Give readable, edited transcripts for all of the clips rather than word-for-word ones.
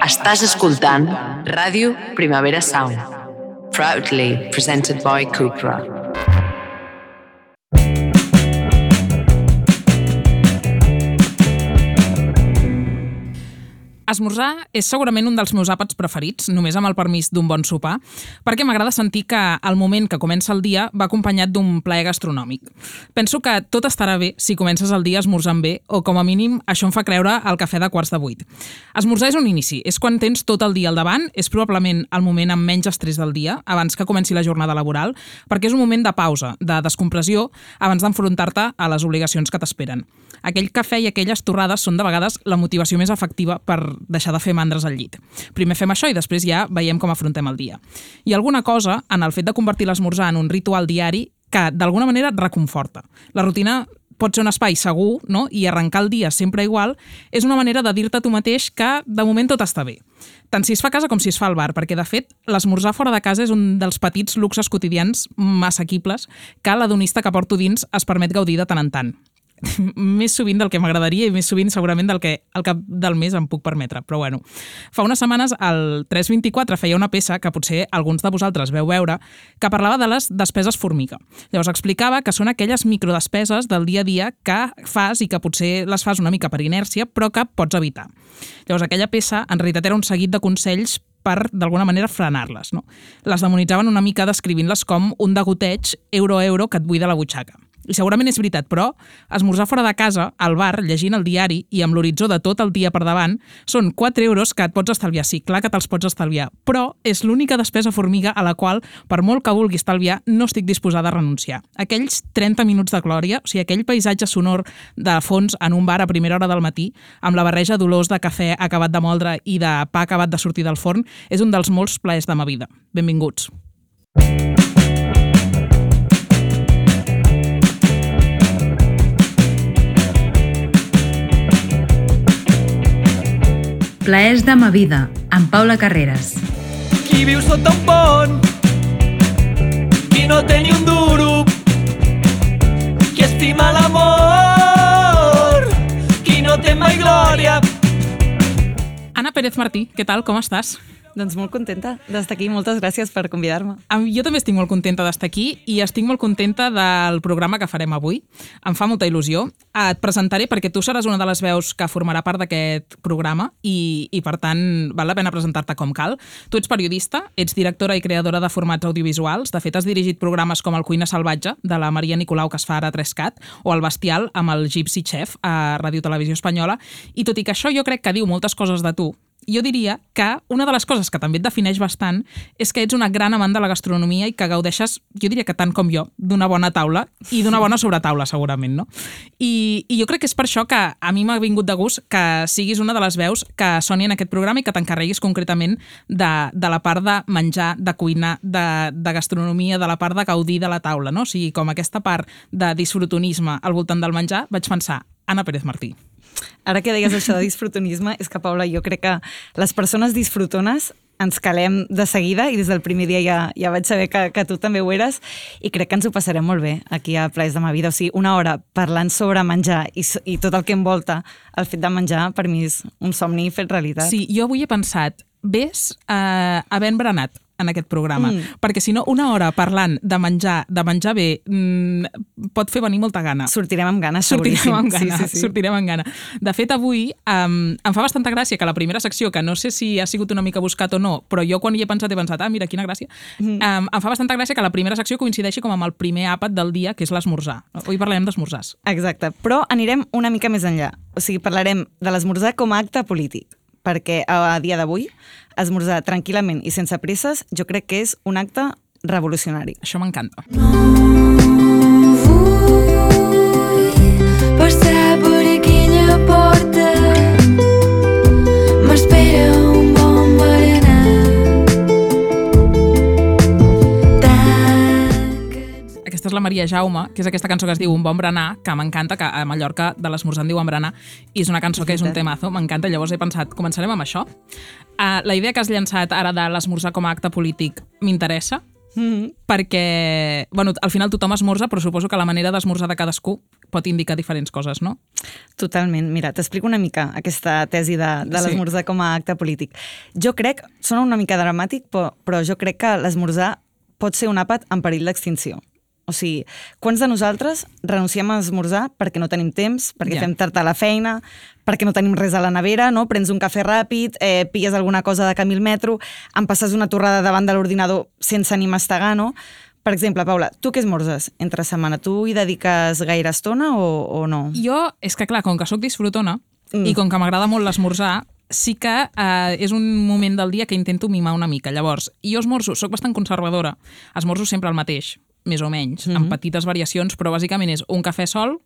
Estàs escoltant Ràdio Primavera Sound, proudly presented by Cupra. Esmorzar és segurament un dels meus àpats preferits, només amb el permís d'un bon sopar, perquè m'agrada sentir que el moment que comença el dia va acompanyat d'un plaer gastronòmic. Penso que tot estarà bé si comences el dia esmorzant bé, o com a mínim això em fa creure el cafè de 7:15. Esmorzar és un inici, és quan tens tot el dia al davant, és probablement el moment amb menys estrès del dia, abans que comenci la jornada laboral, perquè és un moment de pausa, de descompressió, abans d'enfrontar-te a les obligacions que t'esperen. Aquell cafè i aquelles torrades són de vegades la motivació més efectiva per deixar de fer mandres al llit. Primer fem això i després ja veiem com afrontem el dia. Hi ha alguna cosa en el fet de convertir l'esmorzar en un ritual diari que d'alguna manera et reconforta. La rutina pot ser un espai segur, no? I arrencar el dia sempre igual és una manera de dir-te a tu mateix que de moment tot està bé. Tant si es fa a casa com si es fa al bar, perquè de fet l'esmorzar fora de casa és un dels petits luxes quotidians assequibles que l'hedonista que porto dins es permet gaudir de tant en tant. Més sovint del que m'agradaria i més sovint segurament del que al cap del mes em puc permetre, però bueno. Fa unes setmanes el 324 feia una peça que potser alguns de vosaltres veu veure que parlava de les despeses formiga. Llavors explicava que són aquelles microdespeses del dia a dia que fas i que potser les fas una mica per inèrcia però que pots evitar. Llavors aquella peça en realitat era un seguit de consells per, d'alguna manera, frenar-les, no? Les demonitzaven una mica descrivint-les com un degoteig euro a euro que et buida la butxaca. I segurament és veritat, però esmorzar fora de casa, al bar, llegint el diari i amb l'horitzó de tot el dia per davant, són 4 euros que et pots estalviar. Sí, clar que te'ls pots estalviar, però és l'única despesa formiga a la qual, per molt que vulgui estalviar, no estic disposada a renunciar. Aquells 30 minuts de glòria, o sigui, aquell paisatge sonor de fons en un bar a primera hora del matí, amb la barreja d'olors de cafè acabat de moldre i de pa acabat de sortir del forn, és un dels molts plaers de ma vida. Benvinguts. Plaers de ma vida, amb Paula Carreras. Qui viu sota un pont, qui no té ni un duro, qui estima l'amor, qui no té mai glòria. Anna Pérez Martí, què tal? Com estàs? Doncs molt contenta d'estar aquí. Moltes gràcies per convidar-me. Jo també estic molt contenta d'estar aquí i estic molt contenta del programa que farem avui. Em fa molta il·lusió. Et presentaré perquè tu seràs una de les veus que formarà part d'aquest programa i per tant val la pena presentar-te com cal. Tu ets periodista, ets directora i creadora de formats audiovisuals. De fet, has dirigit programes com El Cuina Salvatge, de la Maria Nicolau, que es fa ara a 3Cat, o El Bestial, amb el Gypsy Chef, a Ràdio Televisió Espanyola. I tot i que això jo crec que diu moltes coses de tu, jo diria que una de les coses que també et defineix bastant és que ets una gran amant de la gastronomia i que gaudeixes, jo diria que tant com jo, d'una bona taula i d'una bona sobretaula, segurament, no? I jo crec que és per això que a mi m'ha vingut de gust que siguis una de les veus que soni en aquest programa i que t'encarreguis concretament de la part de menjar, de cuinar, de gastronomia, de la part de gaudir de la taula, no? O sigui, com aquesta part de disfrutonisme al voltant del menjar, vaig pensar, Anna Pérez Martí. Ara que deies això de disfrutonisme, és que, Paula, jo crec que les persones disfrutones ens calem de seguida i des del primer dia ja vaig saber que tu també ho eres i crec que ens ho passarem molt bé aquí a Plaers de ma vida. O sigui, una hora parlant sobre menjar i tot el que envolta el fet de menjar, per mi és un somni fet realitat. Sí, jo avui he pensat, ves havent berenat en aquest programa, perquè si no una hora parlant de menjar bé pot fer venir molta gana. Sortirem amb gana, seguríssim. Sortirem amb gana. De fet, avui em fa bastanta gràcia que la primera secció, que no sé si ha sigut una mica buscat o no, però jo quan hi he pensat, mira, quina gràcia. Em fa bastanta gràcia que la primera secció coincideixi com amb el primer àpat del dia, que és l'esmorzar. Avui parlarem d'esmorzars. Exacte, però anirem una mica més enllà. O sigui, parlarem de l'esmorzar com a acte polític, perquè a dia d'avui esmorzar tranquil·lament i sense presses jo crec que és un acte revolucionari. Això m'encanta. No vull passar per aquella porta, m'espera un bon berenar. Aquesta és la Maria Jaume, que és aquesta cançó que es diu Un bon berenar, que m'encanta, que a Mallorca de l'esmorzar en diuen berenar, i és una cançó que és un temazo, m'encanta, llavors he pensat, començarem amb això. La idea que has llançat ara de l'esmorzar com a acte polític m'interessa, perquè, bueno, al final tothom esmorza, però suposo que la manera d'esmorzar de cadascú pot indicar diferents coses, no? Totalment. Mira, t'explico una mica aquesta tesi de l'esmorzar com a acte polític. Jo crec, sona una mica dramàtic, però jo crec que l'esmorzar pot ser un àpat en perill d'extinció. O sigui, quants de nosaltres renunciem a esmorzar perquè no tenim temps, perquè fem tard a la feina, perquè no tenim res a la nevera, no? Prens un cafè ràpid, pilles alguna cosa de camí al metro, em passes una torrada davant de l'ordinador sense ni mastegar, no? Per exemple, Paula, tu què esmorzes entre setmana? Tu hi dediques gaire estona o no? Jo, és que clar, com que sóc disfrutona i com que m'agrada molt l'esmorzar, sí que és un moment del dia que intento mimar una mica. Llavors, jo esmorzo, soc bastant conservadora, esmorzo sempre el mateix, més o menys, amb petites variacions, però bàsicament és un cafè sol,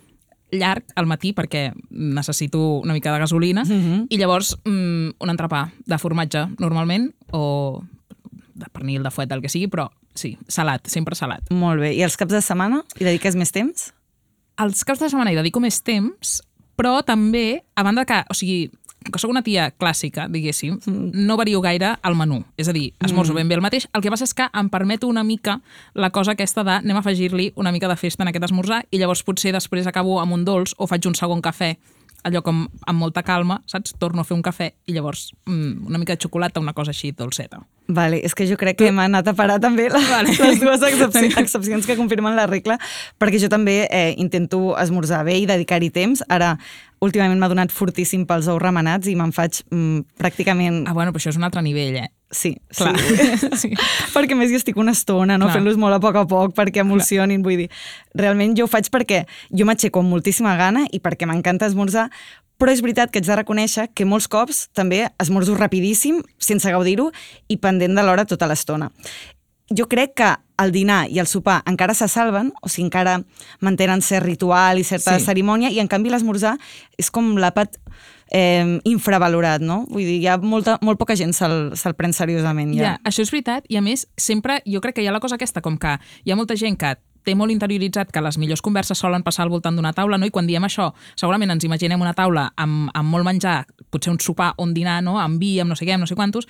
llarg al matí perquè necessito una mica de gasolina, i llavors un entrepà de formatge normalment, o de pernil, de fuet, el que sigui, però sí, salat, sempre salat. Molt bé. I els caps de setmana hi dediques més temps? Els caps de setmana hi dedico més temps, però també, a banda que, o sigui, que sóc una tia clàssica, diguéssim, no vario gaire el menú. És a dir, esmorzo ben bé el mateix. El que passa és que em permeto una mica la cosa aquesta de anem a afegir-li una mica de festa en aquest esmorzar i llavors potser després acabo amb un dolç o faig un segon cafè, allò com amb molta calma, saps? Torno a fer un cafè i llavors una mica de xocolata, una cosa així dolceta. Vale, és que jo crec que m'ha anat a parar també les dues excepcions que confirmen la regla, perquè jo també intento esmorzar bé i dedicar-hi temps. Ara, últimament m'ha donat fortíssim pels ous remenats i me'n faig pràcticament... Ah, bueno, però això és un altre nivell, Sí, clar. Sí. Perquè més hi estic una estona, no? Fent-los molt a poc perquè emulsionin, vull dir. Realment jo ho faig perquè jo m'aixeco amb moltíssima gana i perquè m'encanta esmorzar, però és veritat que haig de reconèixer que molts cops també esmorzo rapidíssim, sense gaudir-ho i pendent de l'hora tota l'estona. Jo crec que el dinar i el sopar encara se salven, o sigui, encara mantenen cert ritual i certa cerimònia, i en canvi l'esmorzar és com l'àpat infravalorat, no? Vull dir, molt poca gent se'l pren seriosament. Ja, això és veritat, i a més, sempre jo crec que hi ha la cosa aquesta, com que hi ha molta gent que té molt interioritzat que les millors converses solen passar al voltant d'una taula, no? I quan diem això, segurament ens imaginem una taula amb molt menjar, potser un sopar o un dinar, no? Amb vi, amb no sé què, amb no sé quantos,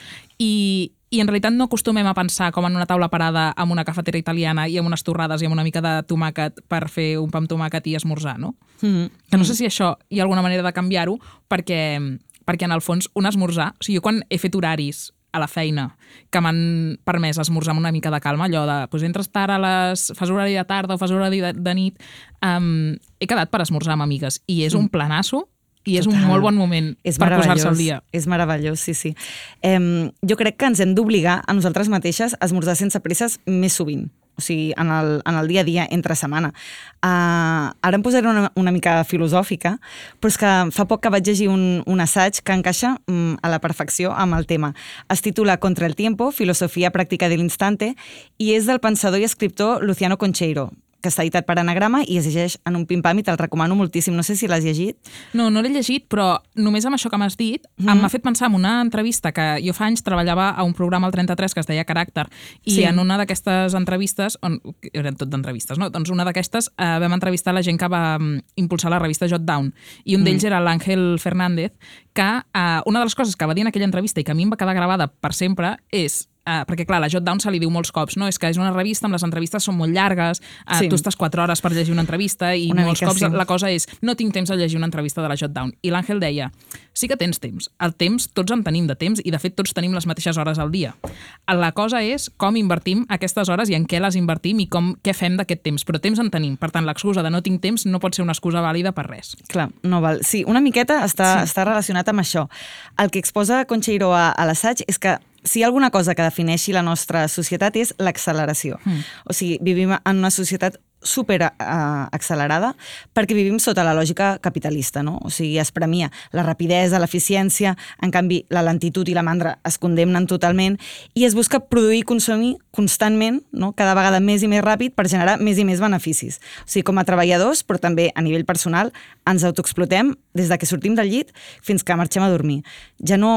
i en realitat no acostumem a pensar com en una taula parada amb una cafetera italiana i amb unes torrades i amb una mica de tomàquet per fer un pa amb tomàquet i esmorzar, no? Que no sé si això hi ha alguna manera de canviar-ho, perquè en el fons un esmorzar, o sigui, jo quan he fet horaris a la feina que m'han permès esmorzar amb una mica de calma, allò de, doncs entres tard fas horari de tarda o fas horari de nit, he quedat per esmorzar amb amigues i és un planasso i és un molt bon moment per posar-se al dia. És meravellós, sí. Jo crec que ens hem d'obligar a nosaltres mateixes a esmorzar sense presses més sovint. O sigui, en el dia a dia, entre setmana. Ara em posaré una mica filosòfica, però és que fa poc que vaig llegir un assaig que encaixa a la perfecció amb el tema. Es titula Contra el tiempo, filosofia pràctica de l'instante, i és del pensador i escriptor Luciano Concheiro, que està editat per Anagrama i es llegeix en un pim-pam i te'l recomano moltíssim. No sé si l'has llegit. No l'he llegit, però només amb això que m'has dit m'ha fet pensar en una entrevista que jo fa anys treballava a un programa al 33 que es deia Caràcter, i en una d'aquestes entrevistes, eren tot d'entrevistes, no? Doncs una d'aquestes vam entrevistar la gent que va impulsar la revista Jotdown, i un d'ells era l'Àngel Fernández, que una de les coses que va dir en aquella entrevista i que a mi em va quedar gravada per sempre és perquè clar, la Jotdown se li diu molts cops, no? És que és una revista amb les entrevistes són molt llargues, tu estàs 4 hores per llegir una entrevista i molts cops la cosa és no tinc temps de llegir una entrevista de la Jotdown. I l'Àngel deia, sí que tens temps. El temps, tots en tenim de temps i de fet tots tenim les mateixes hores al dia. La cosa és com invertim aquestes hores i en què les invertim i què fem d'aquest temps. Però temps en tenim. Per tant, l'excusa de no tinc temps no pot ser una excusa vàlida per res. Clar, no val. Sí, una miqueta està relacionat amb això. El que exposa Concheiro a l'assaig és que si hi ha alguna cosa que defineixi la nostra societat és l'acceleració. O sigui, vivim en una societat super accelerada perquè vivim sota la lògica capitalista, no? O sigui, es premia la rapidesa, l'eficiència, en canvi la lentitud i la mandra es condemnen totalment i es busca produir i consumir constantment, no? Cada vegada més i més ràpid per generar més i més beneficis. O sigui, com a treballadors, però també a nivell personal, ens autoexplotem des de que sortim del llit fins que marxem a dormir. Ja no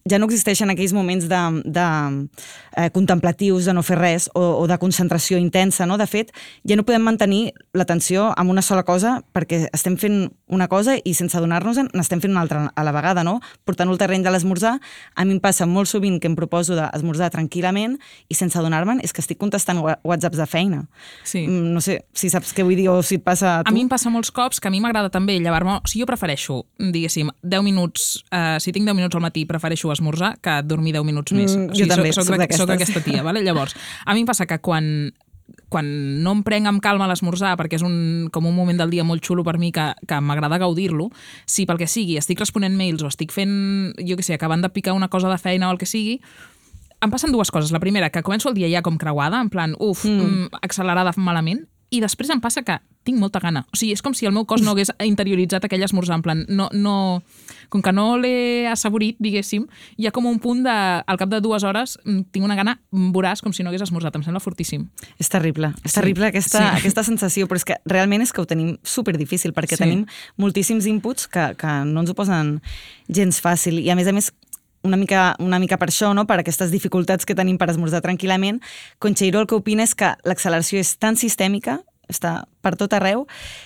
ja no existeixen aquells moments de contemplatius, de no fer res, o de concentració intensa, no? De fet, ja no podem mantenir l'atenció en una sola cosa perquè estem fent una cosa i sense adonar-nos n'estem fent una altra a la vegada, no? Portant-ho al terreny de l'esmorzar, a mi em passa molt sovint que em proposo d'esmorzar tranquil·lament i sense adonar-me'n és que estic contestant whatsapps de feina. Sí. No sé si saps què vull dir o si et passa a tu. A mi em passa molts cops que a mi m'agrada també llevar-me... O sigui, jo prefereixo, diguéssim, 10 minuts... si tinc 10 minuts al matí, prefereixo esmorzar que dormir 10 minuts més. O sigui, jo també, soc aquesta tia, vale? Llavors, a mi em passa que quan no em prenc amb calma l'esmorzar, perquè és com un moment del dia molt xulo per mi que m'agrada gaudir-lo, si pel que sigui estic responent mails o estic fent, jo què sé, acabant de picar una cosa de feina o el que sigui, em passen dues coses. La primera, que començo el dia ja com creuada, en plan, accelerada malament, i després em passa que tinc molta gana. O sigui, és com si el meu cos no hagués interioritzat aquell esmorzar, en plan, com que no l'he assaborit, diguéssim, hi ha com un punt al cap de 2 hores tinc una gana voraç com si no hagués esmorzat. Em sembla fortíssim. És terrible aquesta sensació, però és que realment és que ho tenim superdifícil, perquè tenim moltíssims inputs que no ens ho posen gens fàcil, i a més, una mica per això, no? Per aquestes dificultats que tenim per esmorzar tranquil·lament, Concheiro el que opina és que l'acceleració és tan sistèmica, està per tot arreu,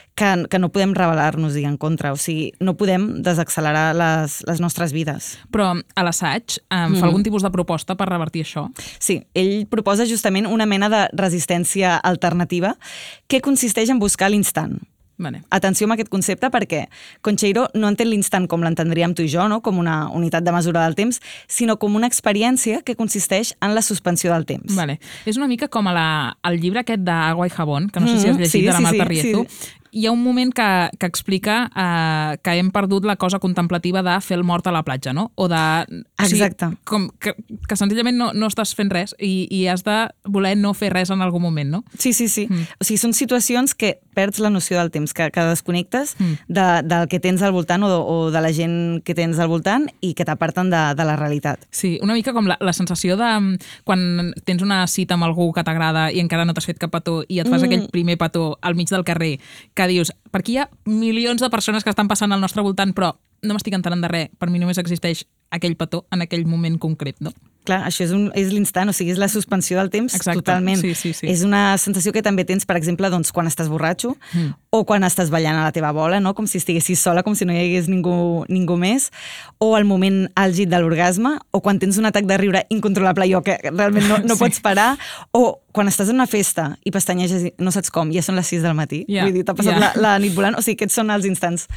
que no podem rebel·lar-nos-hi en contra. O sigui, no podem desaccelerar les nostres vides. Però a l'assaig fa algun tipus de proposta per revertir això? Sí, ell proposa justament una mena de resistència alternativa que consisteix en buscar l'instant. Vale. Atenció amb aquest concepte perquè Concheiro no entén l'instant com l'entendríem tu i jo, no? Com una unitat de mesura del temps, sinó com una experiència que consisteix en la suspensió del temps. Vale. És una mica com el llibre aquest d'Agua i Jabón, que no sé si has llegit, de la Marta Riezu. Sí. Hi ha un moment que explica que hem perdut la cosa contemplativa de fer el mort a la platja, no? O de... Exacte. O sigui, que senzillament no estàs fent res i has de voler no fer res en algun moment, no? Sí. O sigui, són situacions que perds la noció del temps, que desconnectes del que tens al voltant o de la gent que tens al voltant i que t'aparten de la realitat. Sí, una mica com la sensació de quan tens una cita amb algú que t'agrada i encara no t'has fet cap petó i et fas aquell primer petó al mig del carrer, que dius, per aquí hi ha milions de persones que estan passant al nostre voltant, però no m'estic enterant de res, per mi només existeix aquell petó en aquell moment concret, no? Clar, això és l'instant, o sigui, és la suspensió del temps. Exacte. Totalment. Sí. És una sensació que també tens, per exemple, doncs, quan estàs borratxo o quan estàs ballant a la teva bola, no? Com si estiguessis sola, com si no hi hagués ningú més, o el moment àlgid de l'orgasme, o quan tens un atac de riure incontrolable i que realment no pots parar, o quan estàs en una festa i pestaneges i no saps com, ja són les 6 del matí. Vull dir, t'ha passat la nit volant. O sigui, aquests són els instants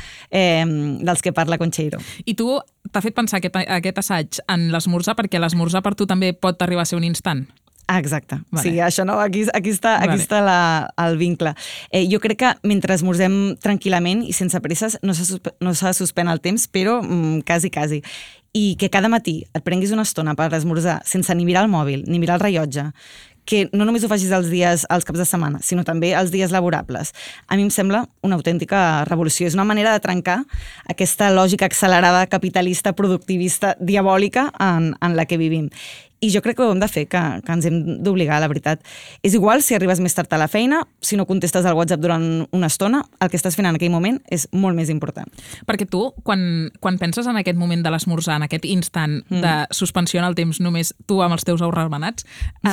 dels que parla Concheiro. I tu t'ha fet pensar aquest assaig en l'esmorzar, perquè l'esmorzar per tu també pot arribar a ser un instant? Exacte. Vale. Sí, això no, aquí està el vincle. Jo crec que mentre esmorzem tranquil·lament i sense presses no s'ha de suspèn el temps, però quasi. I que cada matí et prenguis una estona per esmorzar sense ni mirar el mòbil, ni mirar el rellotge, que no només ho facis els caps de setmana, sinó també els dies laborables. A mi em sembla una autèntica revolució. És una manera de trencar aquesta lògica accelerada capitalista, productivista, diabòlica en la que vivim. I jo crec que ho hem de fer, que ens hem d'obligar, la veritat. És igual si arribes més tard a la feina, si no contestes al WhatsApp durant una estona, el que estàs fent en aquell moment és molt més important. Perquè tu, quan penses en aquest moment de l'esmorzar, en aquest instant de suspensió en el temps, només tu amb els teus ous remenats,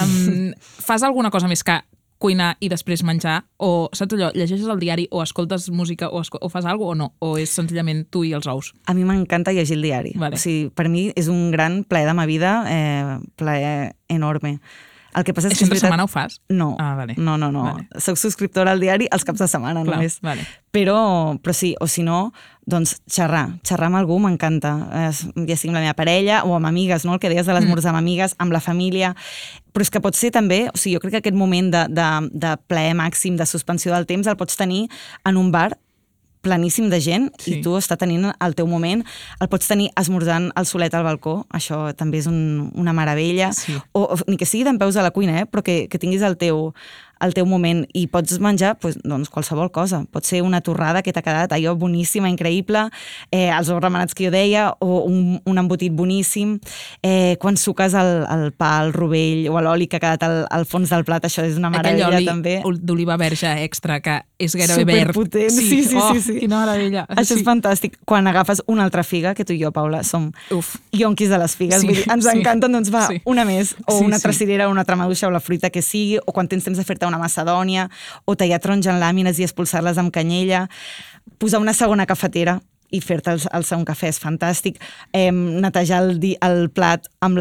fas alguna cosa més que cuinar i després menjar, o saps allò, llegeixes el diari o escoltes música o fas alguna cosa o no, o és senzillament tu i els ous? A mi m'encanta llegir el diari. Vale. O sigui, per mi és un gran plaer de ma vida, plaer enorme. El que passa és que sempre setmana ho fas? No. Ah, vale. No. Vale. Soc subscriptora al diari els caps de setmana només. Vale. Però sí, o si no, doncs xerrar amb algú m'encanta, ja sigui amb la meva parella o amb amigues, no? El que deies de l'esmorzar amb amigues, amb la família, però és que pot ser també, o sigui, jo crec que aquest moment de plaer màxim, de suspensió del temps, el pots tenir en un bar planíssim de gent i tu està tenint el teu moment, el pots tenir esmorzant al solet al balcó, això també és una meravella, o ni que sigui dempeus a la cuina, però que tinguis el teu el teu moment i pots menjar doncs, qualsevol cosa. Pot ser una torrada que t'ha quedat allò boníssima, increïble, els ous remenats que jo deia, o un embotit boníssim. Quan suques el pa, el rovell o l'oli que ha quedat al fons del plat, això és una meravella també. Aquell oli d'oliva verge extra que és gairebé verd. Superpotent, sí. Quina meravella. Això és fantàstic. Quan agafes una altra figa, que tu i jo, Paula, som yonquis de les figues, vull dir, ens encanten, doncs va, una més, o una altra cirera, o una altra maduixa, o la fruita que sigui, o quan tens temps de fer-te una macedònia, o tallar taronja en làmines i expulsar-les amb canyella, posar una segona cafetera i fer-te el segon cafè és fantàstic, netejar el plat amb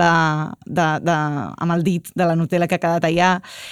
el dit de la Nutella que ha quedat allà,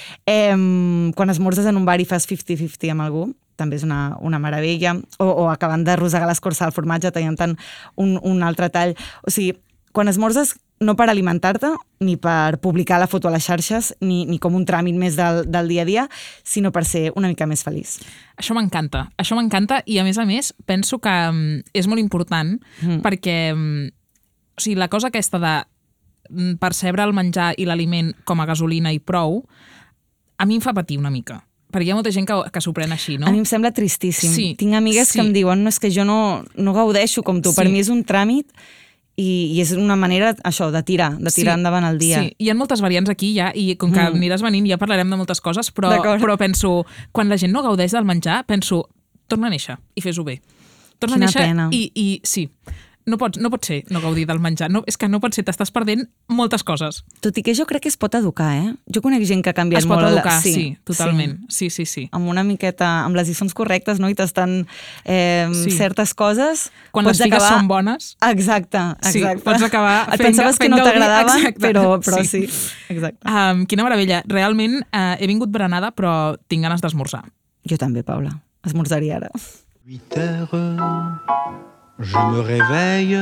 quan esmorzes en un bar i fas 50-50 amb algú, també és una meravella, o acabant de rosegar l'escorça del formatge tallant-te'n un altre tall. O sigui, quan esmorzes no per alimentar-te, ni per publicar la foto a les xarxes, ni com un tràmit més del dia a dia, sinó per ser una mica més feliç. Això m'encanta i a més penso que és molt important perquè o sigui, la cosa aquesta de percebre el menjar i l'aliment com a gasolina i prou, a mi em fa patir una mica. Perquè hi ha molta gent que s'ho pren així, no? A mi em sembla tristíssim. Sí, tinc amigues que em diuen, no, és que jo no gaudeixo com tu, per mi és un tràmit i és una manera, això, de tirar endavant el dia. Sí, hi ha moltes variants aquí ja, i com que aniràs venint ja parlarem de moltes coses, però penso, quan la gent no gaudeix del menjar, penso, torna a néixer i fes-ho bé. Torna a néixer pena. I sí, no pot ser no gaudir del menjar. No, és que no pot ser, t'estàs perdent moltes coses. Tot i que jo crec que es pot educar, Jo conec gent que ha canviat molt. Es pot educar, sí, totalment. Sí. Amb una miqueta, amb les lliçons correctes, no? I tastant certes coses. Quan les figues són bones. Exacte. Sí, pots acabar et pensaves que no t'agradaven, però sí. Exacte. Quina meravella. Realment he vingut berenada, però tinc ganes d'esmorzar. Jo també, Paula. Esmorzaria ara. 8 heures, je me réveille.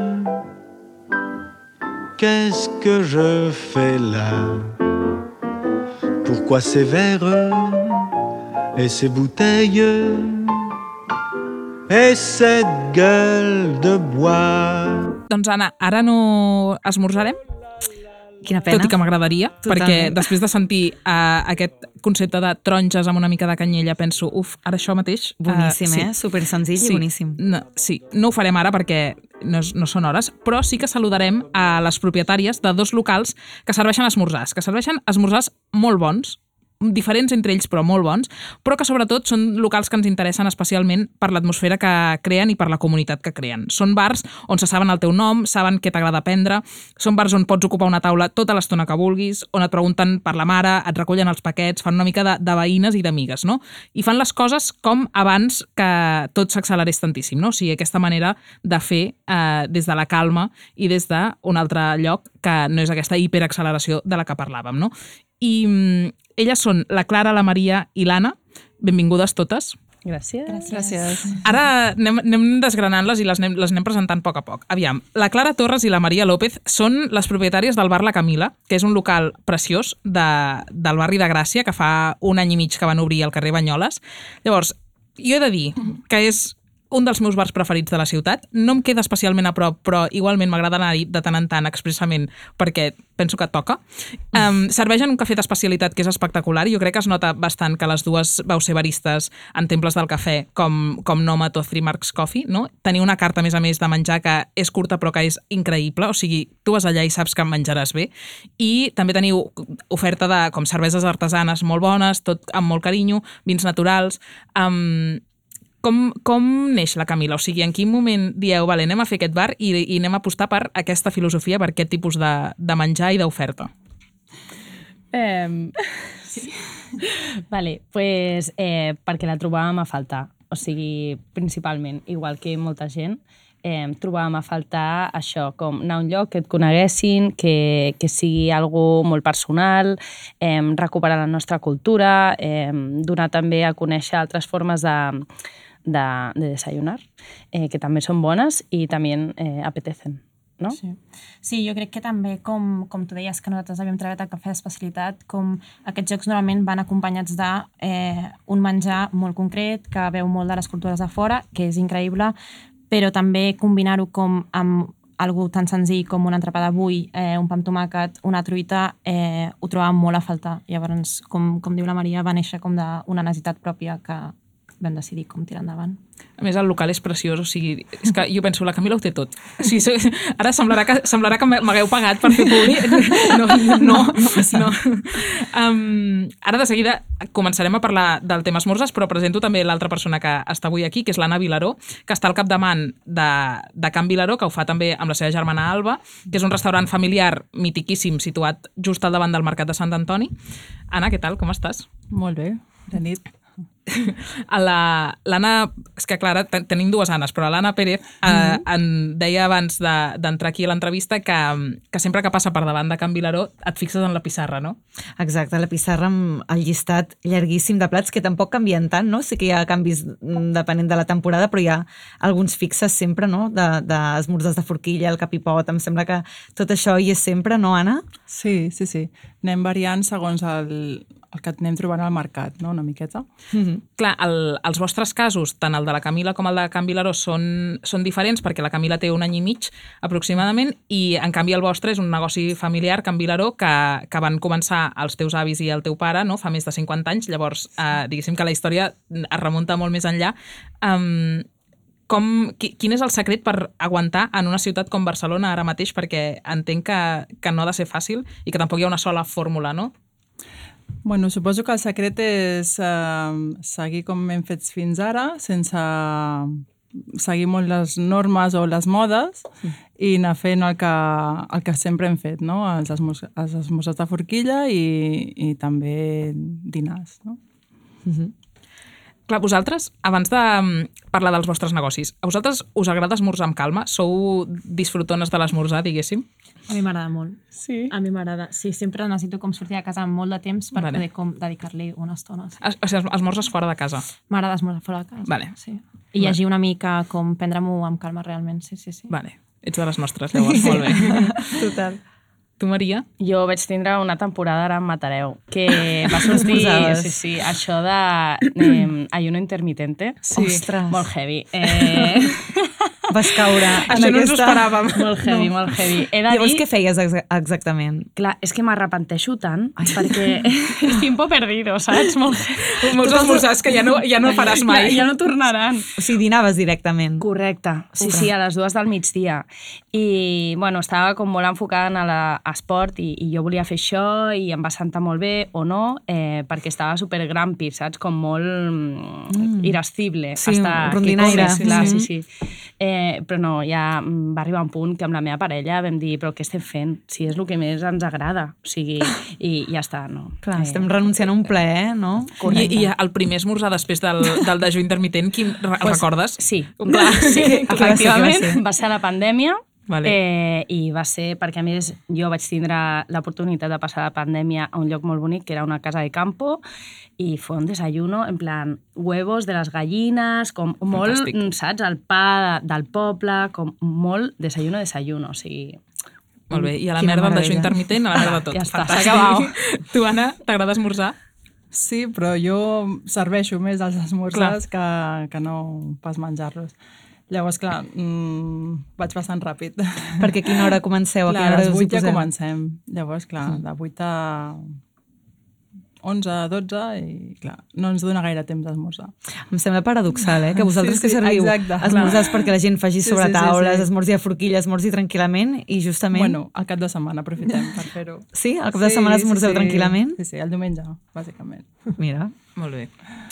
Qu'est-ce que je fais là? Pourquoi ces verres et ces bouteilles et cette gueule de bois? Doncs Anna, ara no esmorzarem. Quina pena. Tot i que m'agradaria, perquè després de sentir aquest concepte de taronges amb una mica de canyella, penso, ara això mateix... Boníssim, Super senzill i boníssim. No ho farem ara perquè no són hores, però sí que saludarem a les propietàries de 2 locals que serveixen esmorzars molt bons, diferents entre ells però molt bons, però que sobretot són locals que ens interessen especialment per l'atmosfera que creen i per la comunitat que creen. Són bars on se saben el teu nom, saben què t'agrada prendre, són bars on pots ocupar una taula tota l'estona que vulguis, on et pregunten per la mare, et recullen els paquets, fan una mica de veïnes i d'amigues, no? I fan les coses com abans que tot s'accelerés tantíssim, no? O sigui, aquesta manera de fer des de la calma i des d'un altre lloc que no és aquesta hiperacceleració de la que parlàvem, no? I elles són la Clara, la Maria i l'Anna. Benvingudes totes. Gràcies. Ara anem desgranant-les i les anem presentant a poc a poc. Aviam, la Clara Torres i la Maria López són les propietàries del bar La Camila, que és un local preciós del barri de Gràcia, que fa 1 any i mig que van obrir al carrer Banyoles. Llavors, jo he de dir que és un dels meus bars preferits de la ciutat. No em queda especialment a prop, però igualment m'agrada anar-hi de tant en tant expressament perquè penso que toca. Serveixen un cafè d'especialitat que és espectacular i jo crec que es nota bastant que les dues vau ser baristes en temples del cafè com Nomad o Three Marks Coffee, no? Teniu una carta, a més de menjar que és curta però que és increïble, o sigui, tu vas allà i saps que menjaràs bé. I també teniu oferta de com cerveses artesanes molt bones, tot amb molt carinyo, vins naturals. Com neix la Camila? O sigui, en quin moment dieu, vale, anem a fer aquest bar i anem a apostar per aquesta filosofia, per aquest tipus de menjar i d'oferta? Vale, pues perquè la trobàvem a faltar. O sigui, principalment, igual que molta gent, trobàvem a faltar això, com anar a un lloc que et coneguessin, que sigui algo molt personal, recuperar la nostra cultura, donar també a conèixer altres formes de desayunar, que també són bones i també apetecen, no? Sí, jo crec que també, com tu deies, que nosaltres havíem treballat el cafè d'especialitat, com aquests jocs normalment van acompanyats d'un menjar molt concret, que veu molt de les cultures de fora, que és increïble, però també combinar-ho com amb algo tan senzill com un entrepà de bull, un pa amb tomàquet, una truita, ho trobàvem molt a faltar. Llavors, com diu la Maria, va néixer com d'una necessitat pròpia que vam decidir com tirar endavant. A més, el local és preciós, o sigui, és que jo penso, la Camila ho té tot. O sigui, ara semblarà que m'hagueu pagat per fer publi. No. Ara de seguida començarem a parlar del tema esmorzars, però presento també l'altra persona que està avui aquí, que és l'Anna Vilaró, que està al capdavant de Can Vilaró, que ho fa també amb la seva germana Alba, que és un restaurant familiar mitiquíssim situat just al davant del Mercat de Sant Antoni. Anna, què tal? Com estàs? Molt bé, de nit. L'Anna, és que clar, tenim dues Annes, però l'Anna Pérez en deia abans d'entrar aquí a l'entrevista que sempre que passa per davant de Can Vilaró et fixes en la pissarra, no? Exacte, la pissarra amb el llistat llarguíssim de plats que tampoc canvien tant, no? Sí que hi ha canvis depenent de la temporada, però hi ha alguns fixes sempre, no? D'esmorzars de forquilla, el capipot, em sembla que tot això hi és sempre, no, Anna? Sí. Anem variant segons el que anem trobant al mercat, no? Una miqueta. Clar, els vostres casos, tant el de la Camila com el de Can Vilaró, són diferents perquè la Camila té 1 any i mig aproximadament i en canvi el vostre és un negoci familiar, Can Vilaró, que van començar els teus avis i el teu pare, no? Fa més de 50 anys, llavors diguéssim que la història es remunta molt més enllà. Quin és el secret per aguantar en una ciutat com Barcelona ara mateix? Perquè entenc que no ha de ser fàcil i que tampoc hi ha una sola fórmula, no? Bueno, suposo que el secret és seguir com hem fet fins ara, sense seguir molt les normes o les modes i anar fent el que sempre hem fet, no? Els esmorzars de forquilla i també dinars, no? Clar, vosaltres, abans de parlar dels vostres negocis, a vosaltres us agrada esmorzar amb calma? Sou disfrutones de l'esmorzar, diguéssim? A mi m'agrada molt. Sí? A mi m'agrada. Sí, sempre necessito com sortir de casa amb molt de temps per poder com dedicar-li una estona. O sigui, esmorzes fora de casa? M'agrada esmorzar fora de casa. Vale. Sí. I llegir una mica, com prendre-m'ho amb calma realment, sí. Vale, ets de les nostres, llavors, molt bé. Total. Tu, Maria? Jo vaig tindre una temporada ara amb Matareu, que va sortir, això de ayuno intermitente. Sí. Ostres. Molt heavy. Vas caure. Això no ens ho esperàvem. Molt heavy, molt heavy. Llavors, què feies exactament? Clar, és que m'arrepenteixo tant, perquè és tiempo perdido, saps? Molts esmorzars que ja no faràs mai. Ja no tornaran. O sigui, dinaves directament. Correcte. Sí, a les 2 del migdia. I, bueno, estava com molt enfocada en l'esport i jo volia fer això i em va sentar molt bé o no, perquè estava super grumpy, saps? Com molt irascible. Sí, rondinaire. Sí. Però no, ja va arribar un punt que amb la meva parella vam dir, però què estem fent? Si és el que més ens agrada. O sigui, i ja està, no? Clar, estem renunciant a un plaer, no? I el primer esmorzar després del dejú intermitent, quin el recordes? Sí. Clar, sí, efectivament, va ser la pandèmia. Vale. I va ser perquè, a més, jo vaig tindre l'oportunitat de passar la pandèmia a un lloc molt bonic, que era una casa de campo, i fue un desayuno, en plan, huevos de les gallines, com molt, fantàstic. Saps? El pa del poble, com molt desayuno, o sigui... Molt bé, i a la merda del dejú intermitent, a la merda tot. Ja està, s'ha acabat. Tu, Anna, t'agrada esmorzar? Sí, però jo serveixo més els esmorzars que no pas menjar-los. Llavors, clar, vaig bastant ràpid. Perquè a quina hora comenceu? Clar, a les 8 ja comencem. Llavors, clar, de 8 a 11, 12 i, clar, no ens dona gaire temps d'esmorzar. Em sembla paradoxal, que vosaltres que serviu esmorzars perquè la gent faci sobre taules, esmorzi a forquilla, esmorzi tranquil·lament i justament... Bueno, al cap de setmana aprofitem per fer-ho. Sí? Al cap de setmana esmorzeu tranquil·lament? Sí, el diumenge, bàsicament. Mira. Molt bé.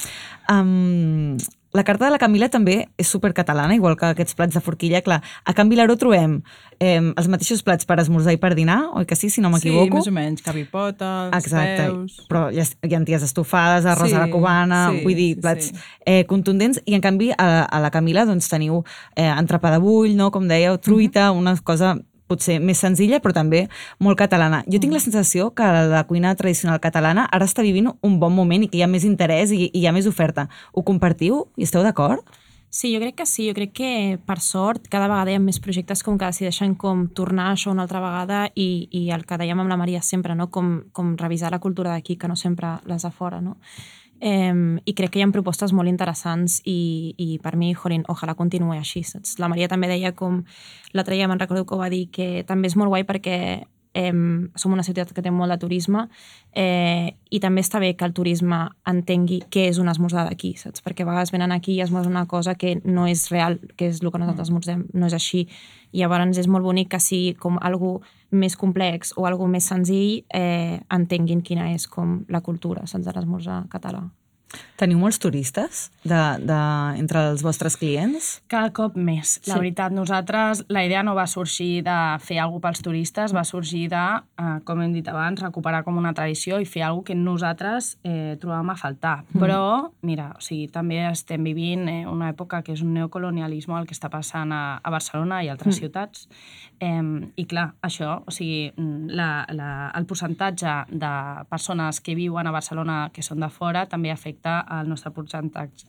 La carta de la Camila també és supercatalana, igual que aquests plats de forquilla. Clar, a Can Vilaró trobem els mateixos plats per esmorzar i per dinar, oi que sí, si no m'equivoco? Sí, més o menys, cavipotes, peus... Però hi ha anties estofades, arròs a la cubana, vull dir, plats contundents, i en canvi a la Camila doncs teniu entrepà de bull, no? Com dèieu, truita, una cosa potser més senzilla, però també molt catalana. Jo tinc la sensació que la cuina tradicional catalana ara està vivint un bon moment i que hi ha més interès i hi ha més oferta. Ho compartiu? I esteu d'acord? Sí, jo crec que sí. Jo crec que, per sort, cada vegada hi ha més projectes com que decideixen com tornar a això una altra vegada i el que dèiem amb la Maria sempre, no? Com revisar la cultura d'aquí, que no sempre les de fora, no? I crec que hi ha propostes molt interessants i per mi, ojalà continuï així, saps? La Maria també deia com, l'altre dia me'n recordo que ho va dir, que també és molt guai perquè som una ciutat que té molt de turisme i també està bé que el turisme entengui què és un esmorzar d'aquí, saps? Perquè a vegades venen aquí i esmorzen una cosa que no és real, que és el que nosaltres esmorzem, no és així. I llavors és molt bonic que sigui com algo més complex o algo més senzill entenguin quina és com la cultura, saps, de l'esmorzar català. Teniu molts turistes entre els vostres clients? Cada cop més. La veritat, nosaltres, la idea no va sorgir de fer alguna cosa pels turistes, va sorgir de, com hem dit abans, recuperar com una tradició i fer alguna cosa que nosaltres trobàvem a faltar. Però, mira, o sigui, també estem vivint una època que és un neocolonialisme el que està passant a Barcelona i altres ciutats. I clar, això, o sigui, el percentatge de persones que viuen a Barcelona que són de fora també afecta el nostre percentatge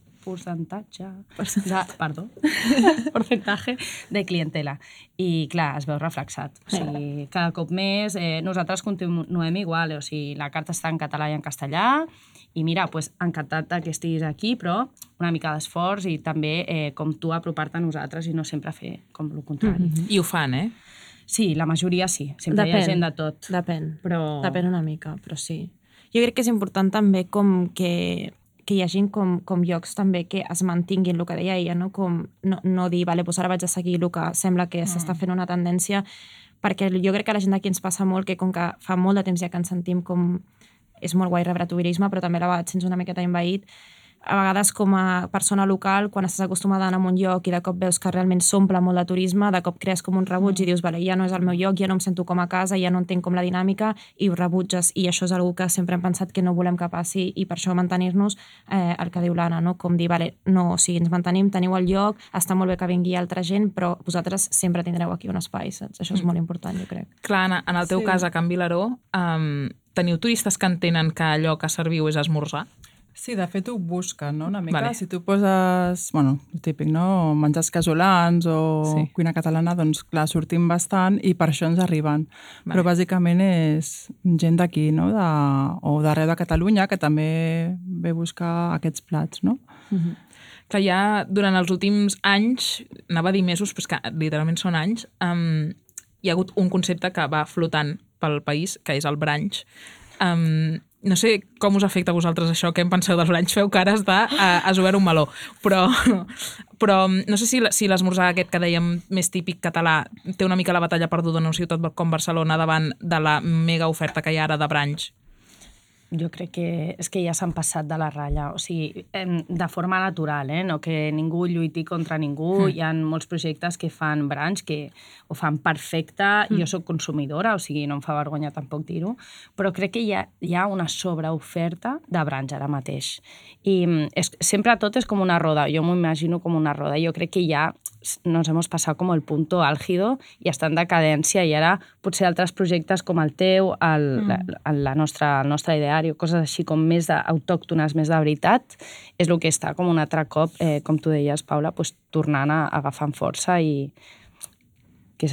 de clientela. I, clar, es veu reflexat. O sigui, cada cop més nosaltres continuem igual. O sigui, la carta està en català i en castellà i mira, pues, encantat que estiguis aquí, però una mica d'esforç i també com tu apropar-te a nosaltres i no sempre fer com el contrari. I ho fan, Sí, la majoria sí. Sempre hi ha gent de tot. Depèn una mica, però sí. Jo crec que és important també com que hi hagi com llocs també que es mantinguin el que deia ella, no? Com no dir, vale, doncs ara vaig a seguir el que sembla que s'està fent una tendència, perquè jo crec que a la gent d'aquí ens passa molt que com que fa molt de temps ja que ens sentim com és molt guai rebre turisme, però també a la vegada et sents una miqueta envaït. A vegades com a persona local, quan estàs acostumada a anar a un lloc i de cop veus que realment s'omple molt de turisme, de cop crees com un rebuig i dius, vale, ja no és el meu lloc, ja no em sento com a casa, ja no entenc com la dinàmica i ho rebutges. I això és una que sempre hem pensat que no volem que passi i per això mantenir-nos el que diu l'Anna, no? Com dir, vale, no, o sigui, ens mantenim, teniu el lloc, està molt bé que vingui altra gent, però vosaltres sempre tindreu aquí un espai, saps? Això és molt important, jo crec. Clar, Anna, en el teu cas a Can Vilaró, teniu turistes que entenen que allò que serviu és esmorzar? Sí, de fet ho busquen, no? Una mica. Vale. Si tu poses, bueno, el típic, no? Menjars casolans o cuina catalana, doncs clar, sortim bastant i per això ens arriben. Vale. Però bàsicament és gent d'aquí, no? O d'arreu de Catalunya, que també ve a buscar aquests plats, no? Clar, ja durant els últims anys, anava a dir mesos, però és que literalment són anys, hi ha hagut un concepte que va flotant pel país, que és el brunch. No sé com us afecta a vosaltres això, què en penseu del brunch? Feu cares de has obert un meló, però no sé si l'esmorzar aquest que dèiem més típic català té una mica la batalla perduda en una ciutat com Barcelona davant de la mega oferta que hi ha ara de brunch. Jo crec que és que ja s'han passat de la ratlla, o sigui, de forma natural, no que ningú lluiti contra ningú, hi ha molts projectes que fan brunch, que ho fan perfecte, jo soc consumidora, o sigui, no em fa vergonya tampoc dir-ho, però crec que hi ha una sobreoferta de brunch ara mateix. I sempre tot és com una roda, jo m'ho imagino com una roda, jo crec que ja nos hemos pasado como el punto álgido i està en decadència i ara potser altres projectes com el teu, el nostre ideari, coses així com més autòctones, més de veritat, és el que està com un altre cop, com tu deies, Paula, tornant a agafar força i que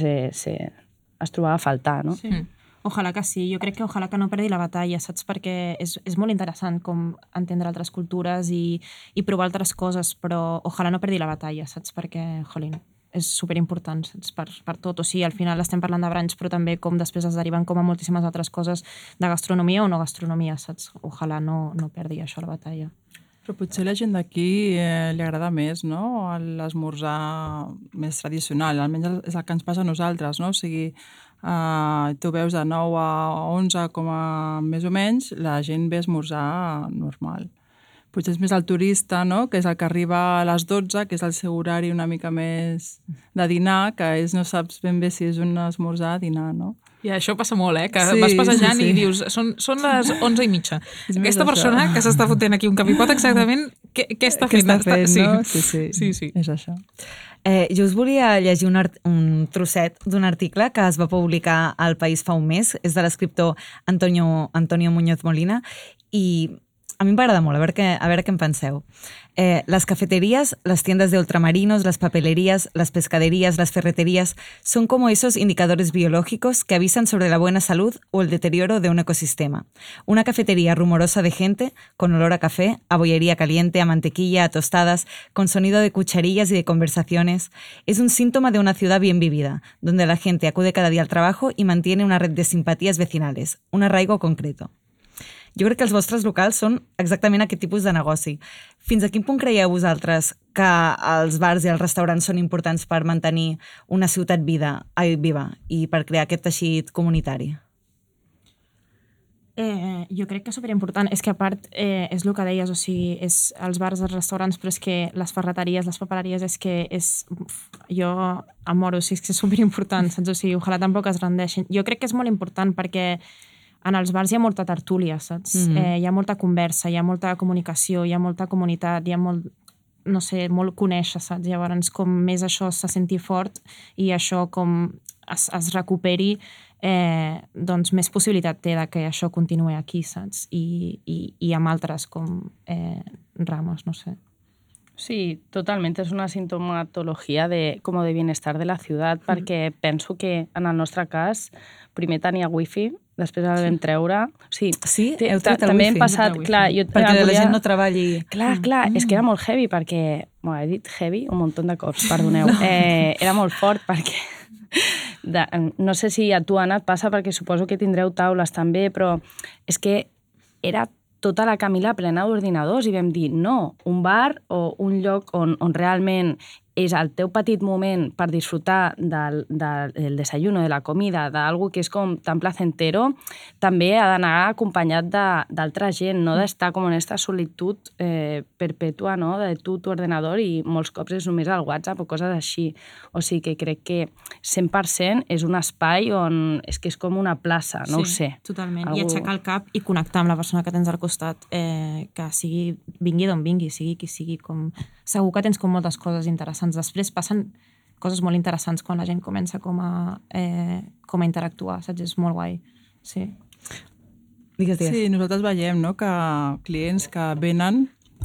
es trobava a faltar, no? Sí. Ojalà que sí, jo crec que ojalà que no perdi la batalla, saps? Perquè és molt interessant com entendre altres cultures i provar altres coses, però ojalà no perdi la batalla, saps? Perquè, jolín, és superimportant, saps? Per tot, o sigui, al final estem parlant de brunch, però també com després es deriven com a moltíssimes altres coses de gastronomia o no gastronomia, saps? Ojalà no perdi això la batalla. Però potser la gent d'aquí li agrada més, no? L'esmorzar més tradicional, almenys és el que ens passa a nosaltres, no? O sigui, tu veus de 9 a 11 com a més o menys, la gent ve a esmorzar normal. Potser és més el turista, no? Que és el que arriba a les 12, que és el seu horari una mica més de dinar, que no saps ben bé si és un esmorzar a dinar, no? I això passa molt, que vas passejant i dius, són les 11:30. Aquesta persona que s'està fotent aquí un capipot exactament, què està fent? Què està fent, no? Sí, és això. Jo us volia llegir un trosset d'un article que es va publicar al País fa un mes, és de l'escriptor Antonio Muñoz Molina, i a mi m'agrada molt, a veure què en penseu. Las cafeterías, las tiendas de ultramarinos, las papelerías, las pescaderías, las ferreterías son como esos indicadores biológicos que avisan sobre la buena salud o el deterioro de un ecosistema. Una cafetería rumorosa de gente, con olor a café, a bollería caliente, a mantequilla, a tostadas, con sonido de cucharillas y de conversaciones, es un síntoma de una ciudad bien vivida, donde la gente acude cada día al trabajo y mantiene una red de simpatías vecinales, un arraigo concreto. Jo crec que els vostres locals són exactament aquest tipus de negoci. Fins a quin punt creieu vosaltres que els bars i els restaurants són importants per mantenir una ciutat viva i per crear aquest teixit comunitari? Jo crec que és superimportant. És que a part, és el que deies, o sigui, és els bars, els restaurants, però és que les ferreteries, les papereries, és que jo em moro, o sigui, és que és superimportant, saps? O sigui, ojalà tampoc es rendeixin. Jo crec que és molt important perquè en els bars hi ha molta tertúlia, saps? Hi ha molta conversa, hi ha molta comunicació, hi ha molta comunitat, hi ha molt, no sé, molt conèixer, saps? Llavors, com més això se senti fort i això com es recuperi, doncs més possibilitat té que això continuï aquí, saps? I amb altres com rames, no sé. Sí, totalment. És una sintomatologia como de bienestar de la ciutat, perquè penso que en el nostre cas primer tenia wifi, després el vam treure. Sí, heu tret el també wifi. hem passat, clar, perquè la gent no treballi. Clar, és que era molt heavy perquè, bueno, he dit heavy un munt de cops, perdoneu. Era molt fort perquè, no sé si a tu, Anna, et passa perquè suposo que tindreu taules també, però és que era tota la Camila plena d'ordinadors i vam dir, no, un bar o un lloc on realment és el teu petit moment per disfrutar del desayuno, de la comida, d'algú que és com tan placentero, també ha d'anar acompanyat d'altra gent, no d'estar com en aquesta solitud perpètua, no? De tu ordenador i molts cops és només el WhatsApp o coses així. O sigui que crec que 100% és un espai on és que és com una plaça, no ho sé. Sí, totalment. I aixecar el cap i connectar amb la persona que tens al costat, que vingui d'on vingui, sigui qui sigui, com... Segur que tens com moltes coses interessants. Després passen coses molt interessants quan la gent comença com a interactuar, saps? És molt guai. Sí. Digues. Sí, nosaltres veiem, no?, que clients que venen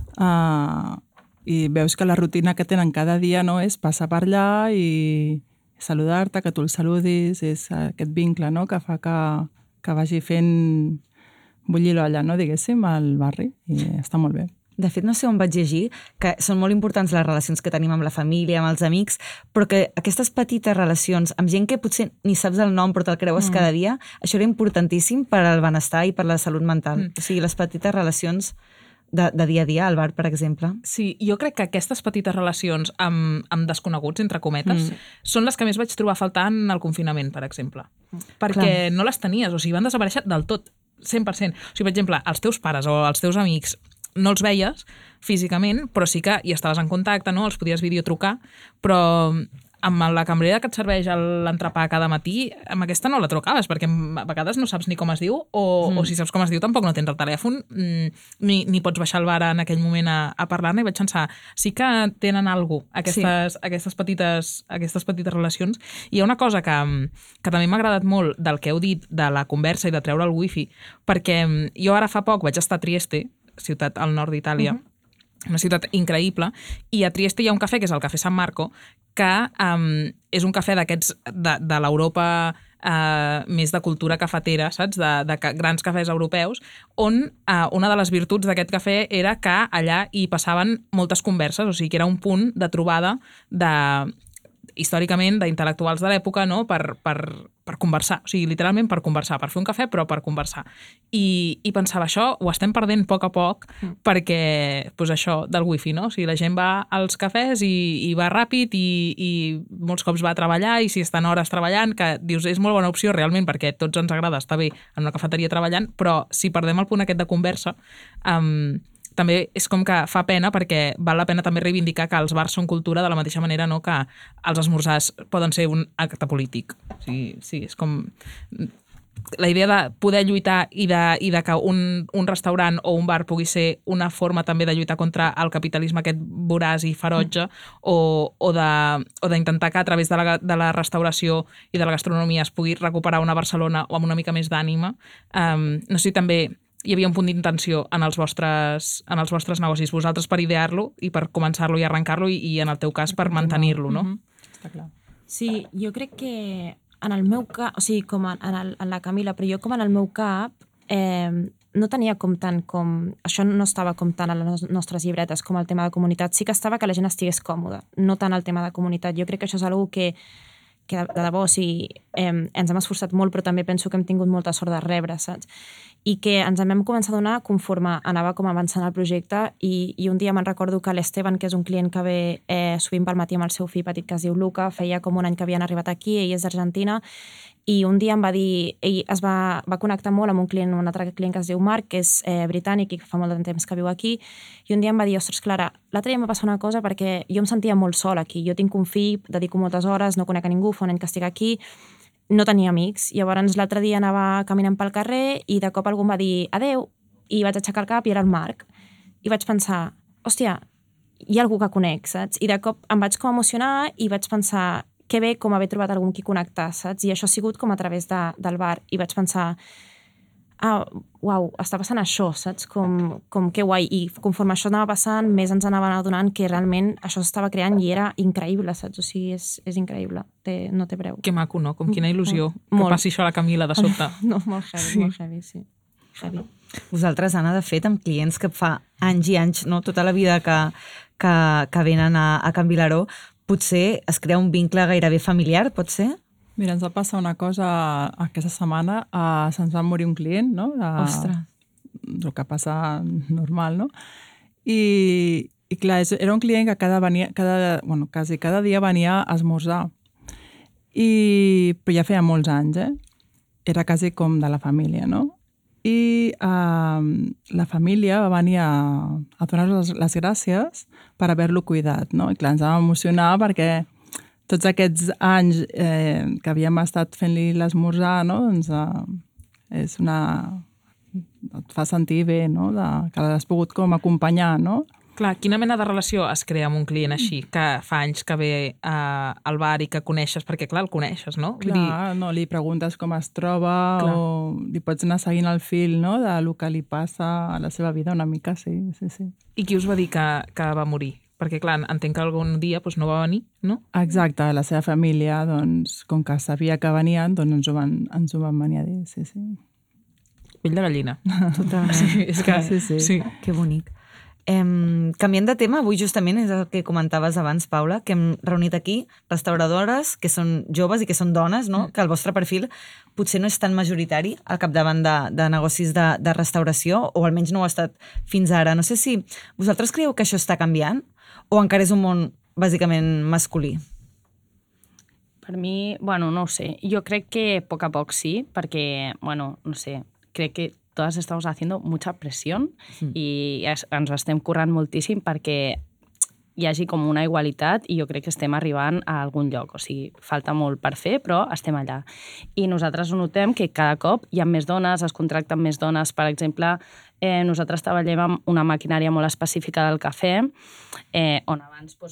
i veus que la rutina que tenen cada dia, no?, és passar per allà i saludar-te, que tu el saludis, és aquest vincle, no?, que fa que vagi fent bullir l'olla, no?, diguéssim, al barri, i està molt bé. De fet, no sé on vaig llegir, que són molt importants les relacions que tenim amb la família, amb els amics, però que aquestes petites relacions amb gent que potser ni saps el nom però te'l creues cada dia, això era importantíssim per al benestar i per la salut mental. O sigui, les petites relacions de dia a dia al bar, per exemple. Sí, jo crec que aquestes petites relacions amb desconeguts, entre cometes, són les que més vaig trobar a faltar en el confinament, per exemple. Perquè no les tenies, o sigui, van desaparèixer del tot, 100%. O sigui, per exemple, els teus pares o els teus amics no els veies físicament, però sí que hi estaves en contacte, no? Els podies videotrucar, però amb la cambrera que et serveix l'entrepà cada matí, amb aquesta no la trucaves, perquè a vegades no saps ni com es diu, o si saps com es diu tampoc no tens el telèfon, ni pots baixar al bar en aquell moment a parlar-ne, i vaig pensar, sí que tenen alguna cosa, aquestes petites relacions. I hi ha una cosa que també m'ha agradat molt del que heu dit, de la conversa i de treure el wifi, perquè jo ara fa poc vaig estar a Trieste, ciutat al nord d'Itàlia, una ciutat increïble, i a Trieste hi ha un cafè, que és el Cafè San Marco, que és un cafè d'aquests de l'Europa més de cultura cafetera, saps? De grans cafès europeus, on una de les virtuts d'aquest cafè era que allà hi passaven moltes converses, o sigui que era un punt de trobada històricament d'intel·lectuals de l'època, no? Per conversar, o sigui, literalment per conversar, per fer un cafè, però per conversar. I pensava, això ho estem perdent a poc, perquè, doncs això, del wifi, no? O sigui, la gent va als cafès i va ràpid i molts cops va a treballar, i si estan hores treballant, que dius, és molt bona opció realment, perquè tots ens agrada estar bé en una cafeteria treballant, però si perdem el punt aquest de conversa, també és com que fa pena, perquè val la pena també reivindicar que els bars són cultura de la mateixa manera, no?, que els esmorzars poden ser un acte polític. O sigui, sí, és com la idea de poder lluitar i de que un restaurant o un bar pugui ser una forma també de lluitar contra el capitalisme aquest voraç i ferotge, o d'intentar que a través de la restauració i de la gastronomia es pugui recuperar una Barcelona o amb una mica més d'ànima. No sé si també hi havia un punt d'intenció en els vostres negocis, vosaltres per idear-lo i per començar-lo i arrencar-lo i en el teu cas per mantenir-lo, no? Està clar. Sí, jo crec que en el meu cap, o sigui, com en la Camila, però jo com en el meu cap no tenia com tant com... Això no estava com tant a les nostres llibretes com el tema de comunitat. Sí que estava que la gent estigués còmoda, no tant el tema de comunitat. Jo crec que això és una cosa que de debò, o sigui, ens hem esforçat molt, però també penso que hem tingut molta sort de rebre, saps? I que ens en vam començar a donar conforme anava com avançant el projecte i un dia me'n recordo que l'Esteban, que és un client que ve sovint pel matí amb el seu fill petit que es diu Luca, feia com un any que havien arribat aquí, ell és d'Argentina, i un dia em va dir, ell es va connectar molt amb un altre client que es diu Marc, que és britànic i que fa molt de temps que viu aquí, i un dia em va dir, ostres, Clara, l'altre dia em va passar una cosa perquè jo em sentia molt sola aquí, jo tinc un fill, dedico moltes hores, no conec a ningú, fa un any que estic aquí, no tenia amics. Llavors l'altre dia anava caminant pel carrer i de cop algú em va dir adeu, i vaig aixecar el cap i era el Marc. I vaig pensar, hòstia, hi ha algú que conec, saps? I de cop em vaig com emocionar i vaig pensar que bé com haver trobat algú amb qui connectar, saps? I això ha sigut com a través del bar. I vaig pensar, uau, està passant això, saps? Com que guai. I conforme això anava passant, més ens anaven adonant que realment això s'estava creant i era increïble, saps? O sigui, és increïble, no té preu. Que maco, no? Com quina il·lusió que passi això a la Camila de sobte. No, molt heavy, sí. Heavy. Vosaltres, Anna, de fet, amb clients que fa anys i anys, no? Tota la vida que venen a Can Vilaró, potser es crea un vincle gairebé familiar, pot ser? Mira, ens va passar una cosa aquesta setmana, se'ns va morir un client, no? Ostres. El que passa normal, no? I clar, era un client que quasi cada dia venia a esmorzar. Però ja feia molts anys, Era quasi com de la família, no? I la família va venir a donar-nos les gràcies per haver-lo cuidat, no? I clar, ens va emocionar perquè tots aquests anys que havíem estat fent-li l'esmorzar, no? Doncs et fa sentir bé, no? Que l'has pogut com acompanyar, no? Clar, quina mena de relació es crea amb un client així, que fa anys que ve al bar i que coneixes, perquè clar, el coneixes, no? Clar, no, li preguntes com es troba o li pots anar seguint el fil, no?, del que li passa a la seva vida una mica, sí. I qui us va dir que va morir? Perquè clar, entenc que algun dia no va venir, no? Exacte, la seva família, doncs, com que sabia que venien, doncs ens ho van venir a dir, sí. Pell de gallina. Totalment. Sí, és que... Sí. Que bonic. Canviant de tema, avui justament és el que comentaves abans, Paula, que hem reunit aquí restauradores que són joves i que són dones, no? Que el vostre perfil potser no és tan majoritari al capdavant de negocis de restauració, o almenys no ho ha estat fins ara. No sé si vosaltres creieu que això està canviant o encara és un món bàsicament masculí? Per mi, no ho sé. Jo crec que a poc sí, perquè, no sé, crec que todas estamos haciendo mucha presión i ens ho estem currant moltíssim perquè hi hagi com una igualitat i jo crec que estem arribant a algun lloc. O sigui, falta molt per fer, però estem allà. I nosaltres ho notem que cada cop hi ha més dones, es contracten més dones. Per exemple, nosaltres treballem amb una maquinària molt específica del cafè, on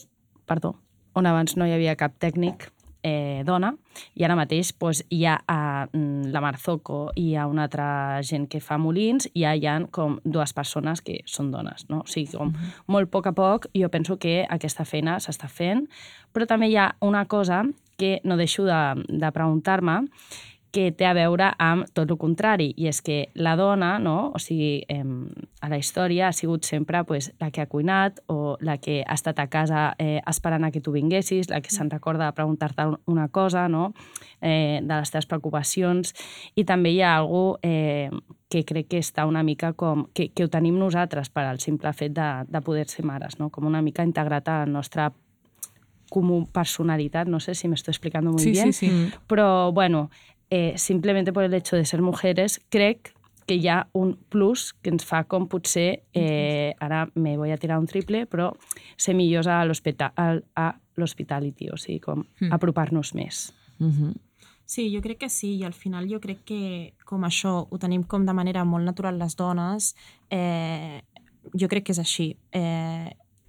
abans no hi havia cap tècnic dona, i ara mateix hi ha la Marzocco i hi ha una altra gent que fa molins i hi ha com 2 persones que són dones, no? O sigui, com molt a poc jo penso que aquesta feina s'està fent, però també hi ha una cosa que no deixo de preguntar-me, que té a veure amb tot el contrari, i és que la dona, no? O sigui, a la història ha sigut sempre la que ha cuinat o la que ha estat a casa esperant a que tu vinguessis, la que se'n recorda de preguntar-te una cosa, no? De les teves preocupacions, i també hi ha algú que crec que està una mica com... que ho tenim nosaltres per al simple fet de poder ser mares, no? Com una mica integrat a la nostra comú personalitat, no sé si m'estoy explicando muy bien, però, simplemente por el hecho de ser mujeres, crec que hi ha un plus que ens fa com potser, ara me voy a tirar un triple, però ser millors a l'hospitality, o sigui, com apropar-nos més. Sí, jo crec que sí, i al final jo crec que com això ho tenim com de manera molt natural les dones, jo crec que és així.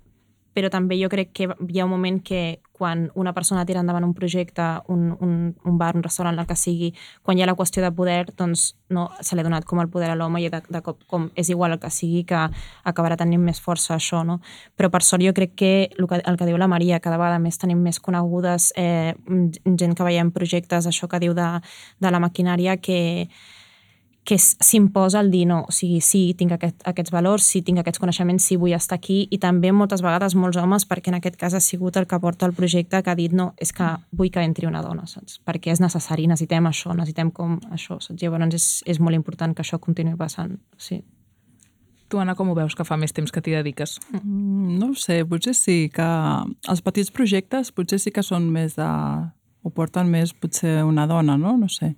però també jo crec que hi ha un moment que quan una persona tira endavant un projecte, un bar, un restaurant, el que sigui, quan hi ha la qüestió de poder, doncs no se li ha donat com el poder a l'home i de cop com és igual el que sigui que acabarà tenint més força això, no? Però per sort jo crec que el que diu la Maria, cada vegada més tenim més conegudes, gent que veiem projectes, això que diu de la maquinària, que s'imposa el dir no, o sigui, sí, tinc aquests valors, sí, tinc aquests coneixements, sí, vull estar aquí, i també moltes vegades molts homes, perquè en aquest cas ha sigut el que porta el projecte, que ha dit no, és que vull que entri una dona, saps? Perquè és necessari, necessitem això, necessitem com això, saps? Llavors és molt important que això continuï passant, sí. Tu, Anna, com ho veus que fa més temps que t'hi dediques? No ho sé, potser sí que els petits projectes potser sí que són més ho porten més potser una dona, no? No sé.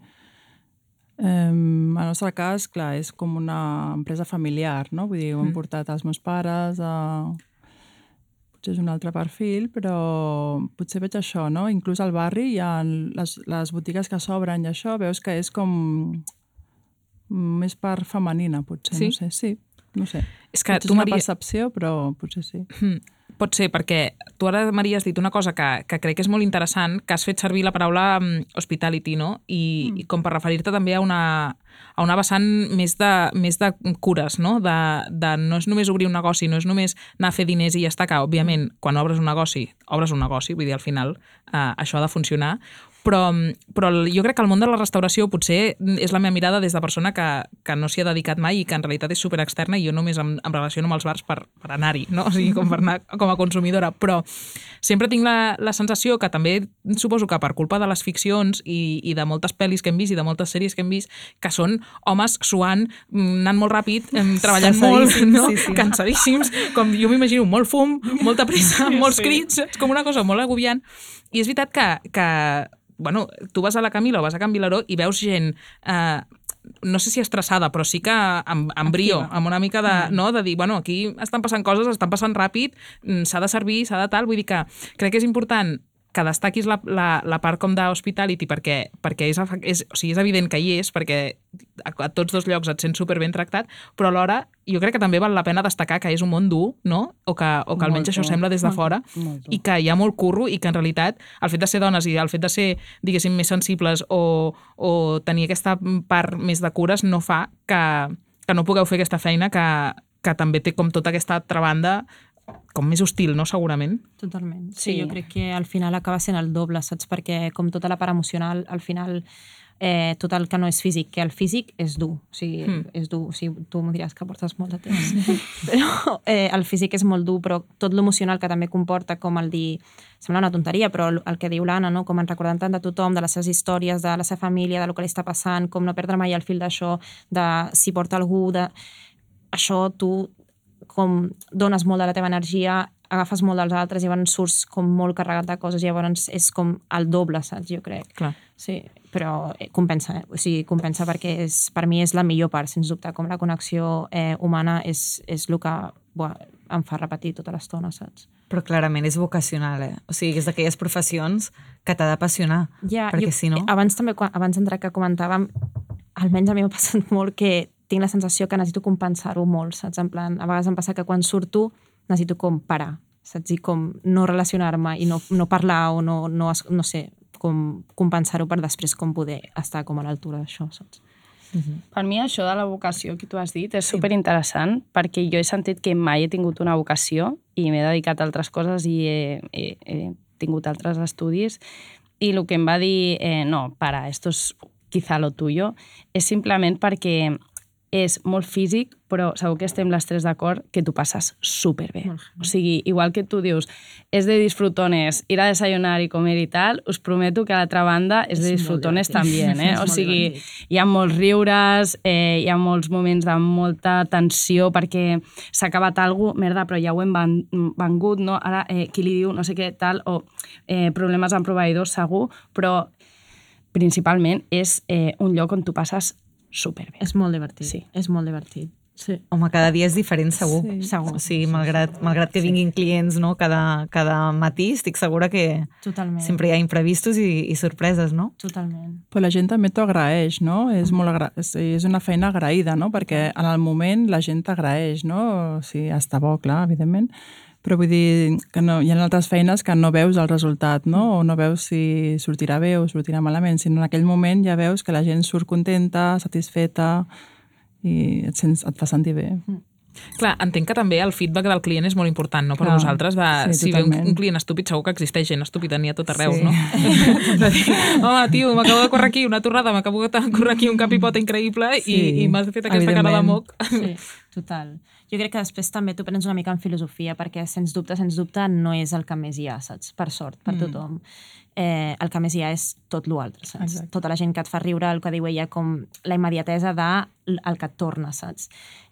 En el nostre cas, clar, és com una empresa familiar, no? Vull dir, ho han portat els meus pares, potser és un altre perfil, però potser veig això, no? Inclús al barri hi ha les botigues que s'obren i això, veus que és com més part femenina, potser, sí? No sé, sí, no sé. És que potser és una percepció, però potser sí. Pot ser, perquè tu ara, Maria, has dit una cosa que crec que és molt interessant, que has fet servir la paraula hospitality, no? I com per referir-te també a una vessant més de cures, no? No és només obrir un negoci, no és només anar a fer diners i ja està, que, òbviament, quan obres un negoci, vull dir, al final això ha de funcionar, però jo crec que el món de la restauració potser és la meva mirada des de persona que no s'hi ha dedicat mai i que en realitat és superexterna i jo només em relaciono amb els bars per anar-hi, no? O sigui, com per anar com a consumidora, però sempre tinc la sensació que també suposo que per culpa de les ficcions i de moltes pel·lis que hem vist i de moltes sèries que hem vist, que són homes suant, anant molt ràpid, treballant molt, no? Sí. Cansadíssims, com jo m'imagino, molt fum, molta pressa, molts crits, és com una cosa molt agobiant. I és veritat que bueno, tu vas a la Camila o vas a Can Vilaró i veus gent, no sé si estressada, però sí que amb brio, amb una mica de dir, bueno, aquí estan passant coses, estan passant ràpid, s'ha de servir, s'ha de tal, vull dir que crec que és important que destaquis la part com d'hospitality perquè és evident que hi és, perquè a tots dos llocs et sents superben tractat, però alhora jo crec que també val la pena destacar que és un món dur, no? O que almenys això sembla des de fora, i que hi ha molt curro i que en realitat el fet de ser dones i el fet de ser, diguéssim, més sensibles o tenir aquesta part més de cures no fa que no pugueu fer aquesta feina que també té com tota aquesta altra banda com més hostil, no? Segurament. Totalment. Sí, jo crec que al final acaba sent el doble, saps? Perquè com tota la part emocional, al final tot el que no és físic, que el físic és dur, o sigui, és dur, o sigui, tu m'ho diràs que portes molt de temps, però el físic és molt dur, però tot l'emocional que també comporta, com el dir, sembla una tonteria, però el que diu l'Anna, no? Com en recordant tant de tothom, de les seves històries, de la seva família, del que li està passant, com no perdre mai el fil d'això, de si porta algú, això tu com dones molt de la teva energia, agafes molt dels altres i llavors surts com molt carregat de coses i llavors és com el doble, saps? Jo crec. Clar. Sí, però compensa, O sigui, compensa perquè per mi és la millor part, sens dubte, com la connexió humana és el que em fa repetir tota l'estona, saps? Però clarament és vocacional, O sigui, és d'aquelles professions que t'ha d'apassionar, perquè si no... Abans d'entrar que comentàvem, almenys a mi m'ha passat molt que tinc la sensació que necessito compensar-ho molt, saps? En plan, a vegades em passa que quan surto necessito com parar, saps? I com no relacionar-me i no parlar o no sé, com compensar-ho per després com poder estar com a l'altura d'això, saps? Per mi això de la vocació que tu has dit és superinteressant perquè jo he sentit que mai he tingut una vocació i m'he dedicat a altres coses i he tingut altres estudis i el que em va dir, no, para, esto es quizá lo tuyo, és simplement perquè és molt físic, però segur que estem les tres d'acord que tu passes superbé. O sigui, igual que tu dius, és de disfrutones ir a desayunar i comer i tal, us prometo que a l'altra banda és de disfrutones també, O sigui, hi ha molts riures, hi ha molts moments de molta tensió perquè s'ha acabat alguna cosa, merda, però ja ho hem vengut, no? Ara, qui li diu no sé què tal, o problemes amb proveïdors segur, però principalment és un lloc on tu passes superbé. És molt divertit. Sí. És molt divertit. Sí. Home, cada dia és diferent, segur. Sí. Segur. O sigui, malgrat que vinguin clients, no? Cada matí, estic segura que sempre hi ha imprevistos i sorpreses, no? Totalment. Però la gent també t'ho agraeix, no? És una feina agraïda, no? Perquè en el moment la gent t'agraeix, no? O sigui, està bo, clar, evidentment, Però vull dir que no, hi ha altres feines que no veus el resultat, no? O no veus si sortirà bé o sortirà malament, sinó en aquell moment ja veus que la gent surt contenta, satisfeta i et fa sentir bé. Clar, entenc que també el feedback del client és molt important, no? Per vosaltres, si ve un client estúpid, segur que existeix gent estúpida, n'hi ha tot arreu, no? De dir, home, tio, m'acabo de córrer aquí una torrada, m'acabo de córrer aquí un capipota increïble i m'has fet aquesta cara de moc. Sí, total. Jo crec que després també tu prens una mica en filosofia, perquè sens dubte, no és el que més hi ha, saps? Per sort, per tothom. El que més hi ha és tot l'altre, saps? Exacte. Tota la gent que et fa riure, el que diu ella, com la immediatesa del que et torna, saps?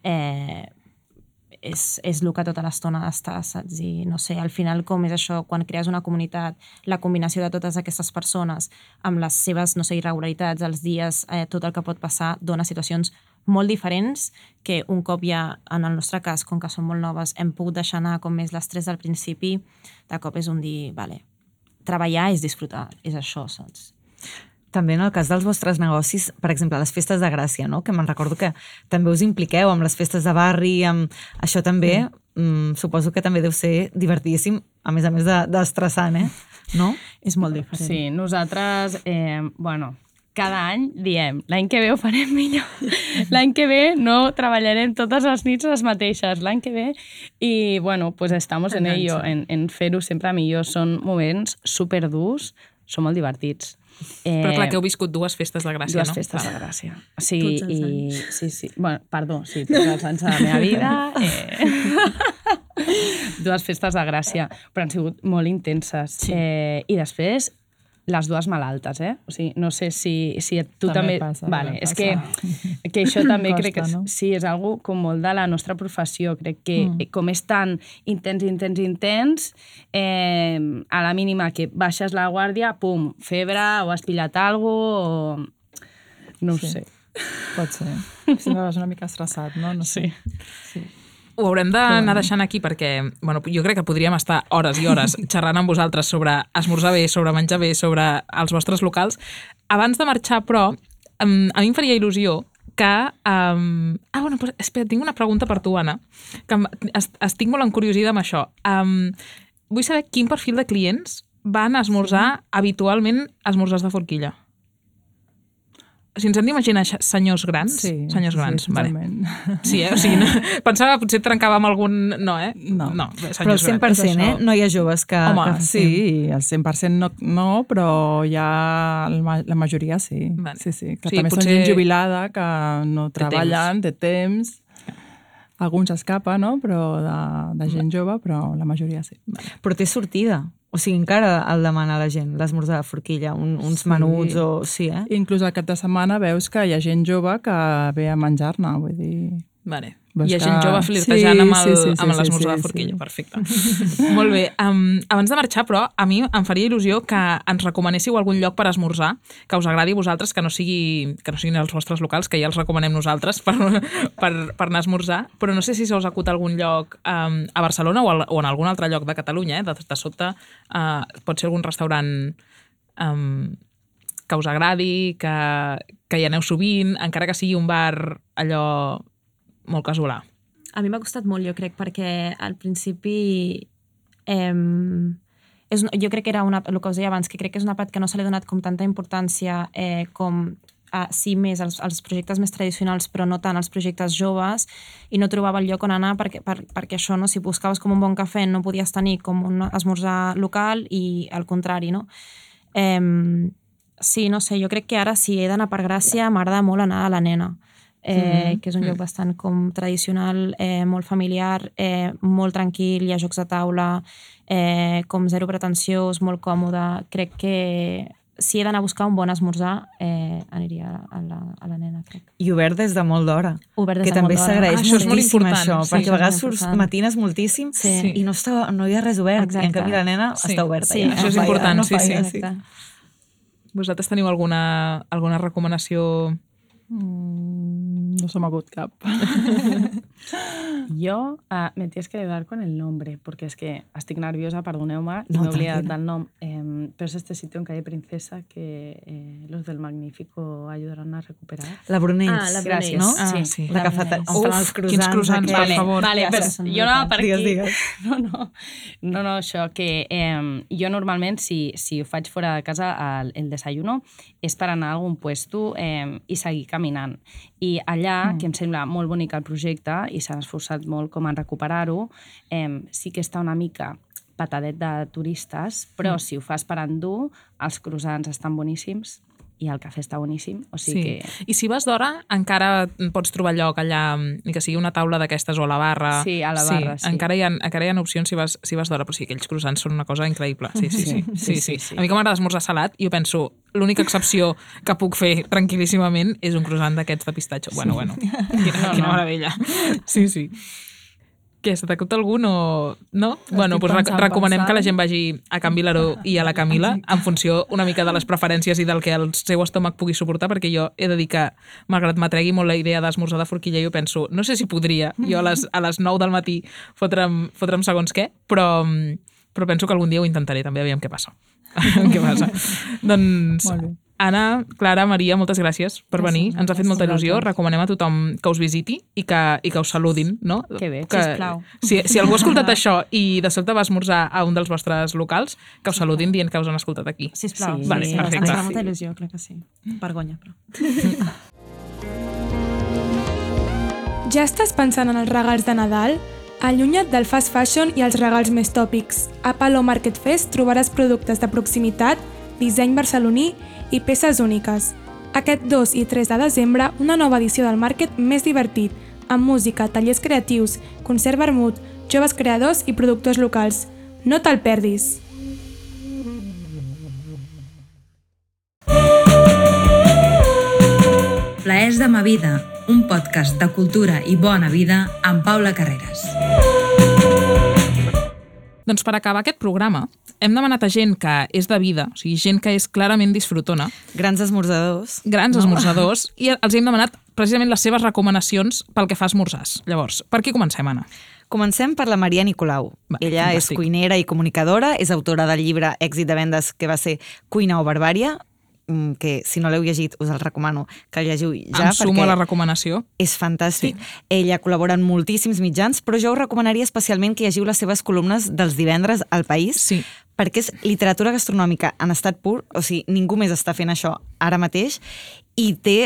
És el que tota l'estona està, saps? I no sé, al final com és això, quan crees una comunitat, la combinació de totes aquestes persones amb les seves, no sé, irregularitats, els dies, tot el que pot passar, dona situacions molt diferents que un cop ja, en el nostre cas, com que som molt noves, hem pogut deixar anar com més l'estrès del principi, de cop és un dir, vale, treballar és disfrutar, és això, saps? També en el cas dels vostres negocis, per exemple, les festes de Gràcia, no? Que me'n recordo que també us impliqueu amb les festes de barri, amb això també, suposo que també deu ser divertidíssim, a més d'estressant, no? És molt diferent. Sí, nosaltres, cada any diem, l'any que ve ho farem millor. L'any que ve no treballarem totes les nits les mateixes. L'any que ve, i bueno, pues estamos en ello, en fer-ho sempre millor. Són moments superdurs, són molt divertits. Però clar, que heu viscut dues festes de Gràcia, no? Dues festes de Gràcia. Sí, sí. Bueno, perdó, sí, tots els anys de la meva vida. Dues festes de Gràcia, però han sigut molt intenses. I després, les dues malaltes, O sigui, no sé si tu també... Passa, vale, és que això també crec que sí, és algo com molt de la nostra professió. Crec que com és tan intens, a la mínima que baixes la guàrdia, pum, febre, o has pillat alguna cosa, o... No ho sé. Pot ser. Sempre vas una mica estressat, no? No sé. Sí. Ho haurem d'anar deixant aquí perquè jo crec que podríem estar hores i hores xerrant amb vosaltres sobre esmorzar bé, sobre menjar bé, sobre els vostres locals. Abans de marxar, però, a mi em faria il·lusió que... espera, tinc una pregunta per tu, Anna, que estic molt encuriosida amb això. Vull saber quin perfil de clients van a esmorzar habitualment esmorzars de forquilla. Si ens hem d'imaginar senyors grans, senyors grans, vale. Sí, o sigui, pensava que potser trencava amb algun... No, No, però el 100%, no hi ha joves que... Home, sí, el 100% no, però ja la majoria sí. Sí, que també són gent jubilada, que no treballen, té temps. Alguns escapa, no? Però de gent jove, però la majoria sí. Però té sortida. O sigui, encara el demana la gent, l'esmorzar de forquilla, uns menuts o... Sí, Inclús al cap de setmana veus que hi ha gent jove que ve a menjar-ne, vull dir... Vale. Hi ha gent jove flirtejant amb l'esmorzar de forquilla. Perfecte. Molt bé. Abans de marxar, però, a mi em faria il·lusió que ens recomanéssiu algun lloc per esmorzar, que us agradi a vosaltres, que no siguin els vostres locals, que ja els recomanem nosaltres per anar a esmorzar, però no sé si se us acut algun lloc a Barcelona o en algun altre lloc de Catalunya, de sobte pot ser algun restaurant que us agradi, que hi aneu sovint, encara que sigui un bar allò molt casolà. A mi m'ha costat molt, jo crec, perquè al principi jo crec que era el que us deia abans, que crec que és una part que no se li ha donat com tanta importància com sí més als projectes més tradicionals, però no tant als projectes joves, i no trobava el lloc on anar perquè això, no? Si buscaves com un bon cafè no podies tenir com un esmorzar local i al contrari, no? Sí, no sé, jo crec que ara si he d'anar per Gràcia m'agrada molt anar a la Nena, que és un lloc bastant com tradicional, molt familiar, molt tranquil, hi ha jocs de taula, com zero pretensiós, molt còmode. Crec que si he d'anar a buscar un bon esmorzar, aniria a la Nena, crec. I obert des de molt d'hora. Obert des que de molt d'hora. Que també s'agraeix moltíssim això, perquè a vegades matines moltíssim i no hi ha res obert. I en canvi la Nena està oberta. Sí, això és important, sí. Vosaltres teniu alguna recomanació? No se m'ha agut cap. Yo me tienes que ayudar con el nombre, porque es que estic nerviosa, perdoneu-me, no, m'he oblidat del nom. pero es este sitio en calle Princesa que los del Magnífico ayudarán a recuperar. La Brunells, la Brunells, no? Sí. La cafeta. Uf, quins croissants, per favor. Vale, però jo no per aquí. Digues. No, això, que jo normalment, si ho faig fora de casa, el desayuno és per anar a algun puesto i seguir caminant. I allà, que em sembla molt bonic el projecte i s'han esforçat molt com en recuperar-ho, sí que està una mica patadet de turistes, però si ho fas per endur, els croissants estan boníssims i el cafè està boníssim, o sigui que... I si vas d'hora, encara pots trobar lloc allà, ni que sigui una taula d'aquestes o a la barra. Sí, a la barra, sí. Encara hi ha opcions si vas d'hora, però sí, aquells croissants són una cosa increïble. Sí. A mi que m'agrada esmorzar salat, jo penso, l'única excepció que puc fer tranquil·líssimament és un croissant d'aquests de pistatxo. Bueno. Quina meravella. Sí. Què, se t'acut algun o... No? Bueno, doncs recomanem que la gent vagi a Can Vilaró i a la Camila en funció una mica de les preferències i del que el seu estómac pugui suportar, perquè jo he de dir que, malgrat m'atregui molt la idea d'esmorzar de forquilla, jo penso, no sé si podria jo a les 9 del matí fotre'm segons què, però penso que algun dia ho intentaré també, aviam què passa. Doncs... Anna, Clara, Maria, moltes gràcies per venir. Ens ha fet molta il·lusió. Recomanem a tothom que us visiti i que us saludin, no? Que bé, sisplau. Si algú ha escoltat això i de sobte va esmorzar a un dels vostres locals, que us saludin dient que us han escoltat aquí. Sisplau. Sí, vale, perfecte. Ens fa molta il·lusió, crec que sí. Vergonya, però. Ja estàs pensant en els regals de Nadal? Allunya't del fast fashion i els regals més tòpics. A Palo Market Fest trobaràs productes de proximitat, disseny barceloní i peces úniques. Aquest 2 i 3 de desembre, una nova edició del Market més divertit, amb música, tallers creatius, concert vermut, joves creadors i productors locals. No te'l perdis! Plaers de ma vida, un podcast de cultura i bona vida amb Paula Carreras. Doncs per acabar aquest programa, hem demanat a gent que és de vida, o sigui, gent que és clarament disfrutona. Grans esmorzadors. Esmorzadors, i els hem demanat precisament les seves recomanacions pel que fa a esmorzars. Llavors, per qui comencem, Anna? Comencem per la Maria Nicolau. Ella és cuinera i comunicadora, és autora del llibre èxit de vendes que va ser Cuina o Barbària, que si no l'heu llegit us el recomano que el llegiu ja. Em sumo a la recomanació. És fantàstic. Sí. Ella col·labora en moltíssims mitjans, però jo us recomanaria especialment que llegiu les seves columnes dels divendres al País, sí, perquè és literatura gastronòmica en estat pur, o sigui, ningú més està fent això ara mateix, i té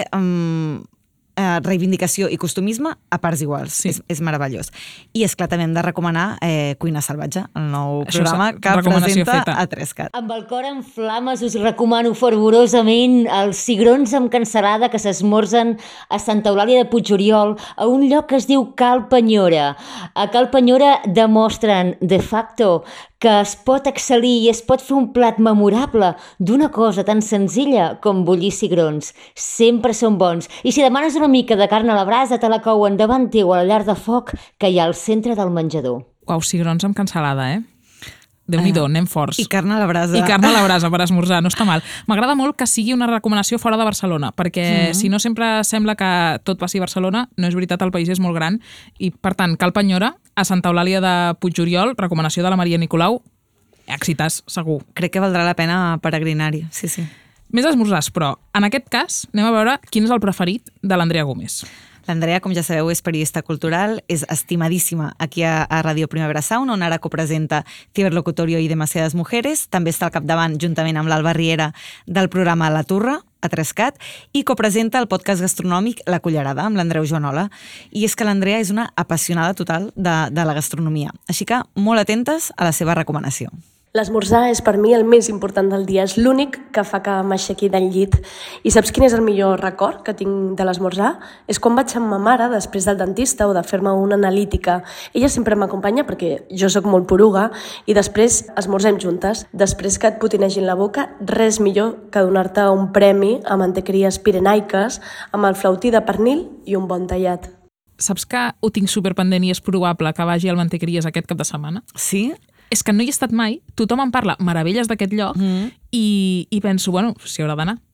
reivindicació i costumisme a parts iguals. Sí. És meravellós. I és clar, també hem de recomanar Cuina Salvatge, el nou programa que presenta a 3CAT. Amb el cor en flames us recomano fervorosament els cigrons amb cansalada que s'esmorzen a Santa Eulàlia de Puigoriol, a un lloc que es diu Cal Penyora. A Cal Penyora demostren de facto que es pot excel·lir i es pot fer un plat memorable d'una cosa tan senzilla com bullir cigrons. Sempre són bons. I si demanes una mica de carn a la brasa, te la couen davant teu a la llar de foc que hi ha al centre del menjador. Uau, cigrons amb cansalada, Déu-n'hi-do, anem forts. I carn a la brasa. I carn a la brasa per esmorzar, no està mal. M'agrada molt que sigui una recomanació fora de Barcelona, perquè si no sempre sembla que tot passi a Barcelona, no és veritat, el país és molt gran, i per tant, Cal Penyora, a Santa Eulàlia de Puigoriol, recomanació de la Maria Nicolau, èxitàs, segur. Crec que valdrà la pena peregrinar-hi, sí. Més esmorzars, però en aquest cas anem a veure quin és el preferit de l'Andrea Gómez. L'Andrea, com ja sabeu, és periodista cultural, és estimadíssima aquí a Ràdio Primavera Sound, on ara copresenta Ciberlocutorio i Demasiadas Mujeres. També està al capdavant, juntament amb l'Alba Riera, del programa La Turra, a 3CAT, i copresenta el podcast gastronòmic La Cullerada, amb l'Andreu Joanola. I és que l'Andrea és una apassionada total de la gastronomia. Així que molt atentes a la seva recomanació. L'esmorzar és per mi el més important del dia, és l'únic que fa que m'aixequi del llit. I saps quin és el millor record que tinc de l'esmorzar? És quan vaig amb ma mare després del dentista o de fer-me una analítica. Ella sempre m'acompanya perquè jo sóc molt poruga i després esmorzem juntes. Després que et potinegin la boca, res millor que donar-te un premi a mantequeries pirenaiques amb el flautí de pernil i un bon tallat. Saps que ho tinc superpendent i és probable que vagi al Mantequeries aquest cap de setmana? Sí? És que no hi he estat mai, tothom em parla meravelles d'aquest lloc i penso, bueno, s'hi haurà d'anar.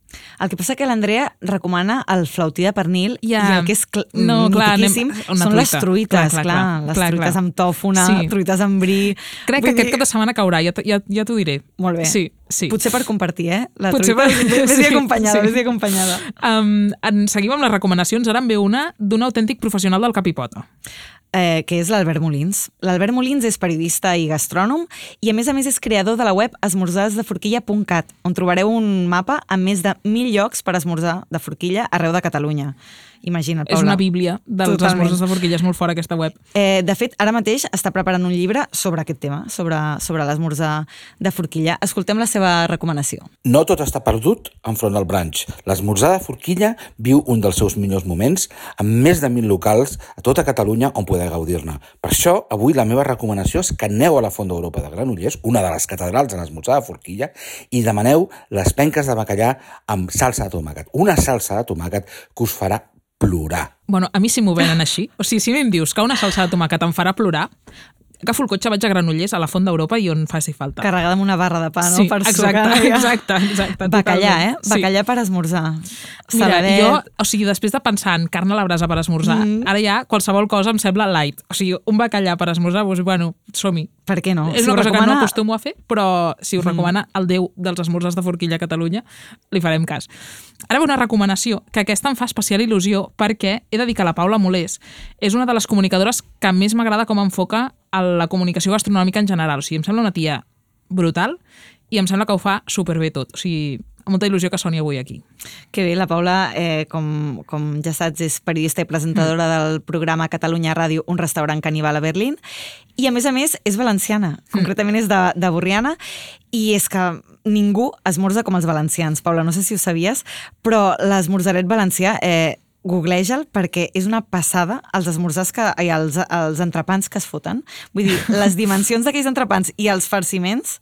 El que passa que l'Andrea recomana el flautí de pernil i el que és mitiquíssim són les truites, les truites amb tòfona, truites amb bri... Crec que aquest cap de setmana caurà, ja t'ho diré. Molt bé. Sí. Potser per compartir, la truita. Vés-hi acompanyada. Seguim amb les recomanacions. Ara en ve una d'un autèntic professional del cap i pota. Que és l'Albert Molins. L'Albert Molins és periodista i gastrònom i a més és creador de la web esmorzadesdeforquilla.cat, on trobareu un mapa amb més de 1.000 llocs per esmorzar de forquilla arreu de Catalunya. Imagina't, Paula. És una bíblia dels esmorzars de forquilla, és molt fora aquesta web. De fet, ara mateix està preparant un llibre sobre aquest tema, sobre l'esmorzar de forquilla. Escoltem la seva recomanació. No tot està perdut enfront del brunch. L'esmorzar de forquilla viu un dels seus millors moments amb més de 1.000 locals a tota Catalunya on poder gaudir-ne. Per això, avui la meva recomanació és que aneu a la Font d'Europa de Granollers, una de les catedrals en l'esmorzar de forquilla, i demaneu les penques de bacallà amb salsa de tomàquet. Una salsa de tomàquet que us farà plorar. Bueno, a mi si m'ho venen així, o sigui, si em dius que una salsa de tomàquet em farà plorar, agafo el cotxe, vaig a Granollers, a la Font d'Europa i on faci falta. Carregada amb una barra de pa, no? Sí, per exacte. Bacallà, Bacallà per esmorzar. Mira, jo, o sigui, després de pensar en carn a la brasa per esmorzar, ara ja qualsevol cosa em sembla light. O sigui, un bacallà per esmorzar, doncs, bueno, som-hi. Per què no? És una cosa que no acostumo a fer, però si us recomana el déu dels esmorzars de forquilla a Catalunya, li farem cas. Ara ve una recomanació, que aquesta em fa especial il·lusió, perquè he de dir que la Paula Molés és una de les comunicadores que més m'agrada com enfoca a la comunicació gastronòmica en general. O sigui, em sembla una tia brutal i em sembla que ho fa superbé tot. O sigui, amb molta il·lusió que soni avui aquí. Que bé, la Paula, com ja saps, és periodista i presentadora del programa Catalunya Ràdio, un restaurant caníbal a Berlín, i a més, és valenciana, concretament és de Borriana, i és que ningú esmorza com els valencians. Paula, no sé si ho sabies, però l'esmorzaret valencià... googleja'l perquè és una passada els esmorzars i els entrepans que es foten. Vull dir, les dimensions d'aquells entrepans i els farciments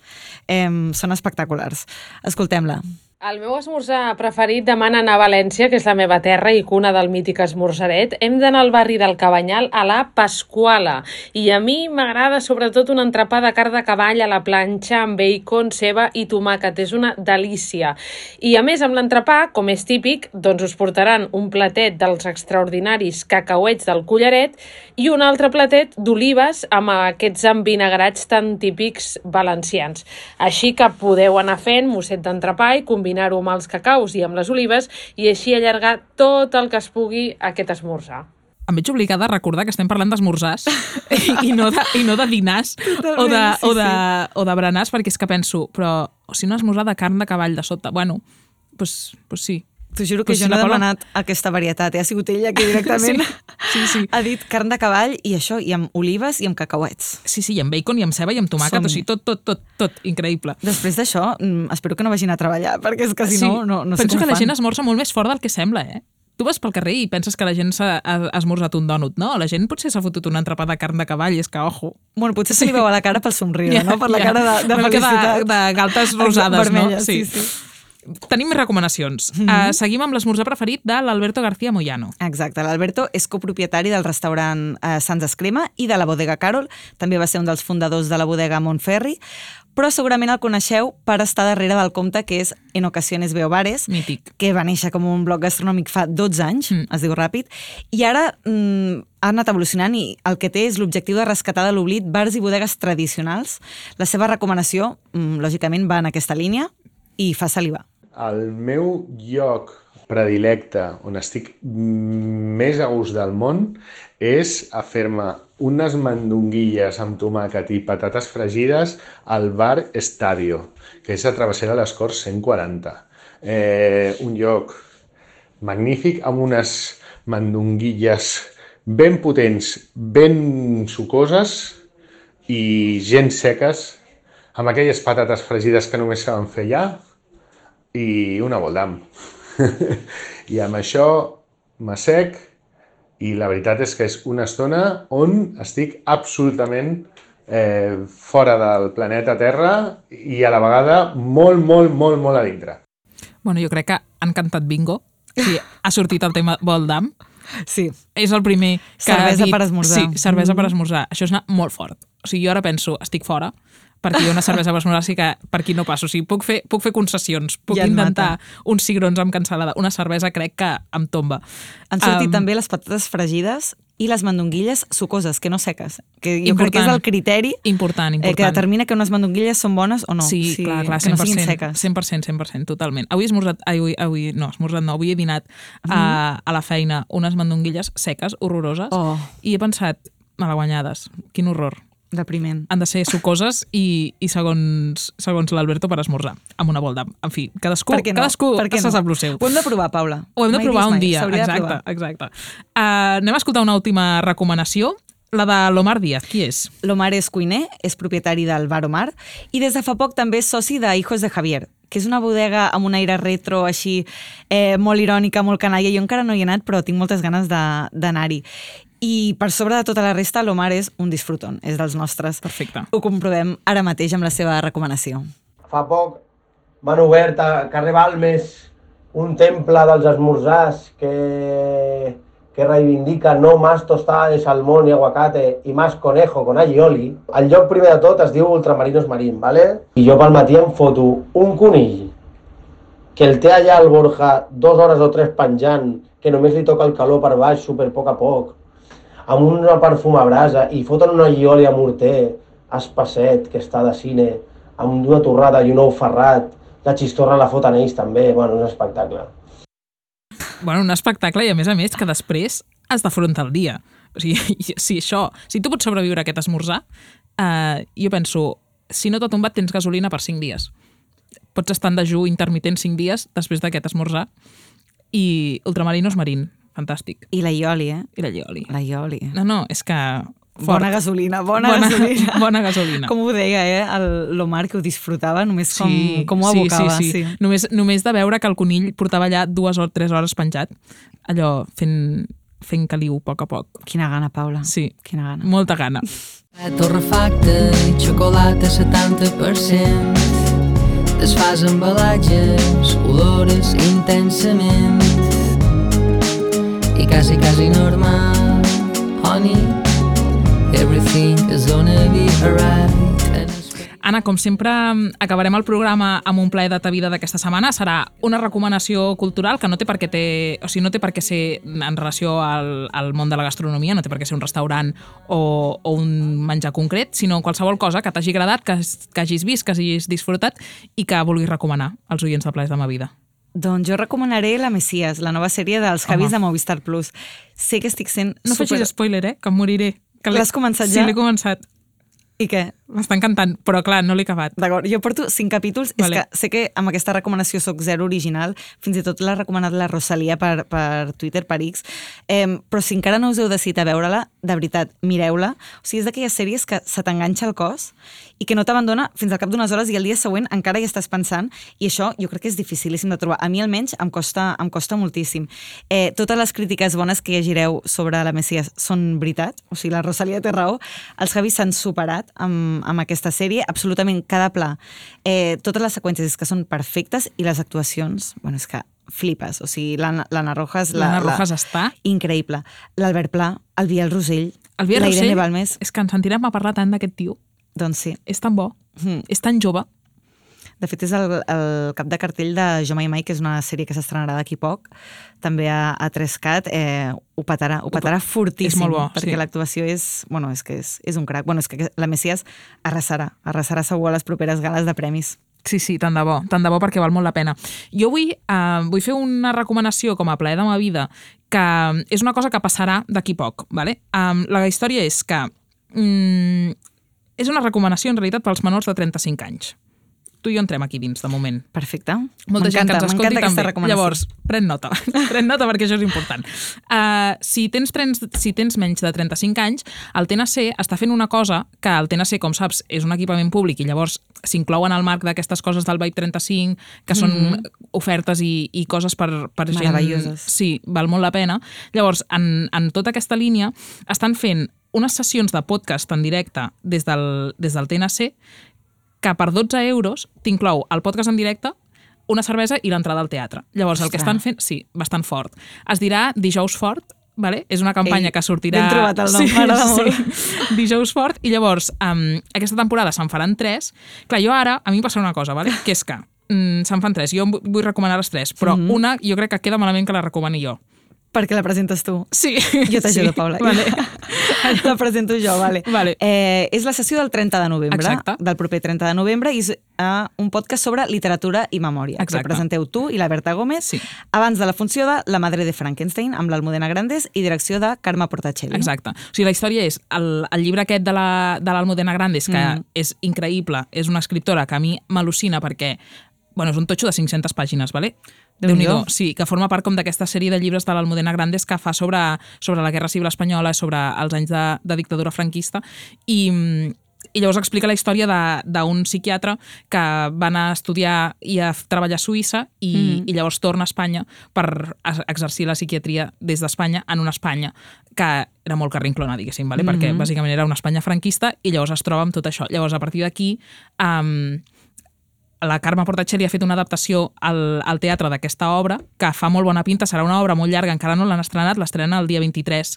són espectaculars. Escoltem-la. El meu esmorzar preferit demana anar a València, que és la meva terra i cuna del mític esmorzaret. Hem d'anar al barri del Cabanyal a la Pasquala. I a mi m'agrada sobretot un entrepà de carn de cavall a la planxa amb bacon, ceba i tomàquet. És una delícia. I a més, amb l'entrepà, com és típic, doncs us portaran un platet dels extraordinaris cacauets del Collaret i un altre platet d'olives amb aquests envinagrats tan típics valencians. Així que podeu anar fent mosset d'entrepà i combinar-ho amb els cacaus i amb les olives i així allargar tot el que es pugui aquest esmorzar. Em veig obligada a recordar que estem parlant d'esmorzars i no de dinars o de berenars, perquè és que penso, però si no esmorzar de carn de cavall de sota, bueno, doncs sí. T'ho juro que jo no he demanat aquesta varietat, ha sigut ella que directament ha dit carn de cavall i això, i amb olives i amb cacauets. Sí, i amb bacon i amb ceba i amb tomàquet, o sigui, tot increïble. Després d'això, espero que no vagin a treballar, perquè és que si no sé com fan. Penso que la gent esmorza molt més fort del que sembla, Tu vas pel carrer i penses que la gent s'ha esmorzat un dònut, no? La gent potser s'ha fotut un entrepà de carn de cavall, és que, ojo. Bueno, potser se li veu a la cara pel somriure, no? Per la cara de felicitat. De galtes rosades, vermelles, no? Sí. Tenim més recomanacions. Seguim amb l'esmorzar preferit de l'Alberto García Moyano. Exacte, l'Alberto és copropietari del restaurant Sants Escrema i de la bodega Carol, també va ser un dels fundadors de la bodega Montferri, però segurament el coneixeu per estar darrere del compte que és En Ocasiones Veo Bares, mític, que va néixer com un blog gastronòmic fa 12 anys, es diu ràpid, i ara ha anat evolucionant i el que té és l'objectiu de rescatar de l'oblit bars i bodegues tradicionals. La seva recomanació, lògicament, va en aquesta línia i fa salivar. El meu lloc predilecte on estic més a gust del món és a fer-me unes mandonguilles amb tomàquet i patates fregides al bar Estadio, que és a Travessera de les Corts 140. Un lloc magnífic amb unes mandonguilles ben potents, ben sucoses i gens seques, amb aquelles patates fregides que només saben fer allà, i una boldam. I amb això m'assec i la veritat és que és una estona on estic absolutament fora del planeta Terra i a la vegada molt a dintre. Bueno, jo crec que han cantat bingo. Sí, ha sortit el tema boldam. Sí. És el primer que Cervesa ha dit... per esmorzar. Sí, cervesa per esmorzar. Això és anar molt fort. O sigui, jo ara penso, estic fora, perquè jo una cervesa per esmorzar sí que per aquí no passo. O sigui, puc fer concessions, puc Ja et intentar mata. uns cigrons amb cansalada. Una cervesa crec que em tomba. Han sortit també les patates fregides i les mandonguilles sucoses, que no seques. Que jo crec que és el criteri important. que determina que unes mandonguilles són bones o no. Sí, clar, que no siguin seques. 100%, totalment. Avui he dinat a la feina unes mandonguilles seques, horroroses, i he pensat, malaguanyades, quin horror. Depriment. Han de ser sucoses i segons l'Alberto per esmorzar, amb una bolda. En fi, cadascú se sap el seu. Ho hem de provar, Paula. Ho hem de provar un dia, S'hauria de provar. exacte. Anem a escoltar una última recomanació, la de l'Omar Díaz. Qui és? L'Omar és cuiner, és propietari del Bar Omar i des de fa poc també és soci de Hijos de Javier, que és una bodega amb un aire retro així molt irònica, molt canalla. Jo encara no hi he anat, però tinc moltes ganes d'anar-hi. I per sobre de tota la resta, l'Omar és un disfrutón, és dels nostres. Perfecte. Ho comprovem ara mateix amb la seva recomanació. Fa poc m'han obert a carrer Balmes un temple dels esmorzars que reivindica no más tostada de salmón y aguacate y más conejo con allioli. El lloc primer de tot es diu Ultramarinos Marín, ¿vale? I jo pel matí em foto un conill que el té allà al Borja 2 hores o 3 penjant, que només li toca el calor per baix, super poc a poc, amb una perfuma brasa, i foten una allioli a morter, espesset, que està de cine, amb una torrada i un ou ferrat, la xistorra la foten ells també, bueno, un espectacle. Bueno, un espectacle i a més que després has d'afrontar el dia. O sigui, si tu pots sobreviure a aquest esmorzar, jo penso, si no t'ha tombat tens gasolina per 5 dies. Pots estar en dejú intermitent 5 dies després d'aquest esmorzar i Ultramarinos Marín, fantàstic. I la ioli, eh? I la ioli. La ioli. No, és que... Fort. Bona gasolina. Bona gasolina. Com ho deia, l'Omar, que ho disfrutava, només com ho abocava. Sí. Només de veure que el conill portava allà 2 o 3 hores penjat, allò fent caliu a poc a poc. Quina gana, Paula. Sí, quina gana. Molta gana. Torrefacte i xocolata 70%. Desfàs embalatges, olores intensament. I quasi normal, honey. Everything is gonna be alright. Anna, com sempre, acabarem el programa amb un plaer de ta vida d'aquesta setmana. Serà una recomanació cultural que no té per què ser en relació al món de la gastronomia, no té per què ser un restaurant o un menjar concret, sinó qualsevol cosa que t'hagi agradat, que hagis vist, que hagis disfrutat i que vulguis recomanar als oients de Plaers de ma vida. Doncs jo recomanaré La Messias, la nova sèrie dels Javis de Movistar Plus. Sé que estic sent No facis spoiler, que em moriré. L'has començat ja? Sí, l'he començat. I què? M'està encantant, però clar, no l'he acabat. D'acord, jo porto 5 capítols, vale. És que sé que amb aquesta recomanació soc zero original, fins i tot l'ha recomanat la Rosalia per Twitter, per X, però si encara no us heu decidit a veure-la, de veritat, mireu-la. O sigui, és d'aquelles sèries que se t'enganxa el cos i que no t'abandona fins al cap d'unes hores i el dia següent encara hi estàs pensant, i això jo crec que és dificilíssim de trobar. A mi almenys em costa moltíssim. Totes les crítiques bones que llegireu sobre La Messias són veritat, o sigui, la Rosalia té raó, els Javis s'han superat amb aquesta sèrie, absolutament cada pla. Totes les seqüències és que són perfectes i les actuacions, bueno, és que flipes. O sigui, l'Anna Rojas... L'Anna Rojas està... Increïble. L'Albert Pla, el Biel Rosell, la Irene Balmes... És que ens sentirem a parlar tant d'aquest tio. Doncs sí. És tan bo, és tan jove. De fet, és el cap de cartell de Jo Mai Mai, que és una sèrie que s'estrenarà d'aquí poc, també a 3CAT, ho petarà fortíssim. És molt bo, perquè l'actuació és un crac. Bueno, és que La Messias arrasarà segur a les properes gales de premis. Sí, tant de bo perquè val molt la pena. Jo vull fer una recomanació com a plaer de ma vida, que és una cosa que passarà d'aquí poc. Vale? La història és que és una recomanació en realitat pels menors de 35 anys. Tu i jo entrem aquí dins, de moment. Perfecte. Molta gent que ens escolti també. Llavors, pren nota perquè això és important. Si tens menys de 35 anys, el TNC està fent una cosa que el TNC, com saps, és un equipament públic i llavors s'inclouen al marc d'aquestes coses del Vibe 35, que són ofertes i coses per gent... Meravelloses. Sí, val molt la pena. Llavors, en tota aquesta línia, estan fent unes sessions de podcast en directe des del TNC que per 12 euros t'inclou el podcast en directe, una cervesa i l'entrada al teatre. Llavors, el que estan fent... Sí, bastant fort. Es dirà Dijous Fort, vale? És una campanya que sortirà... Ben trobat el nom, m'agrada molt. Dijous fort, i llavors aquesta temporada se'n faran 3. Clar, jo ara, a mi em passa una cosa, vale? Que és que se'n fan 3, jo vull recomanar les 3, però una jo crec que queda malament que la recomani jo. Perquè la presentes tu. Sí. Jo t'ajudo, Paula. Vale. La presento jo, vale. És la sessió del 30 de novembre, exacte, del proper 30 de novembre, i és un podcast sobre literatura i memòria. Exacte. Que presenteu tu i la Berta Gómez, abans de la funció de La madre de Frankenstein, amb l'Almudena Grandes i direcció de Carme Portacelli. Exacte. O sigui, la història és el llibre aquest de l'Almudena Grandes, que és increïble, és una escriptora que a mi m'al·lucina perquè és un totxo de 500 pàgines, ¿vale? Déu-n'hi-do. Sí, que forma part com d'aquesta sèrie de llibres de l'Almudena Grandes que fa sobre la Guerra Civil Espanyola, sobre els anys de dictadura franquista, i llavors explica la història d'un psiquiatre que va anar a estudiar i a treballar a Suïssa i llavors torna a Espanya per exercir la psiquiatria des d'Espanya en una Espanya que era molt carrinclona, diguéssim, ¿vale? Perquè bàsicament era una Espanya franquista i llavors es troba amb tot això. Llavors, a partir d'aquí, la Carme Portacelli ha fet una adaptació al teatre d'aquesta obra que fa molt bona pinta, serà una obra molt llarga, encara no l'han estrenat, l'estrena el dia 23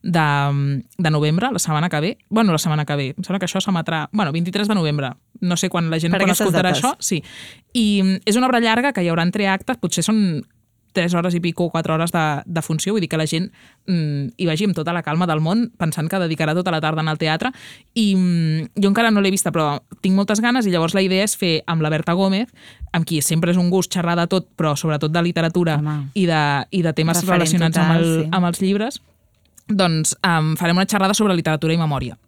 de novembre, la setmana que ve. La setmana que ve, em sembla que això s'emetrà... 23 de novembre, no sé quan la gent escoltarà això. Sí. I és una obra llarga que hi haurà entre actes, potser són 3 hores i pico, 4 hores de funció, vull dir que la gent hi vagi amb tota la calma del món, pensant que dedicarà tota la tarda al teatre, i jo encara no l'he vista, però tinc moltes ganes, i llavors la idea és fer amb la Berta Gómez, amb qui sempre és un gust xerrar de tot, però sobretot de literatura i de temes relacionats amb els llibres, doncs farem una xerrada sobre literatura i memòria.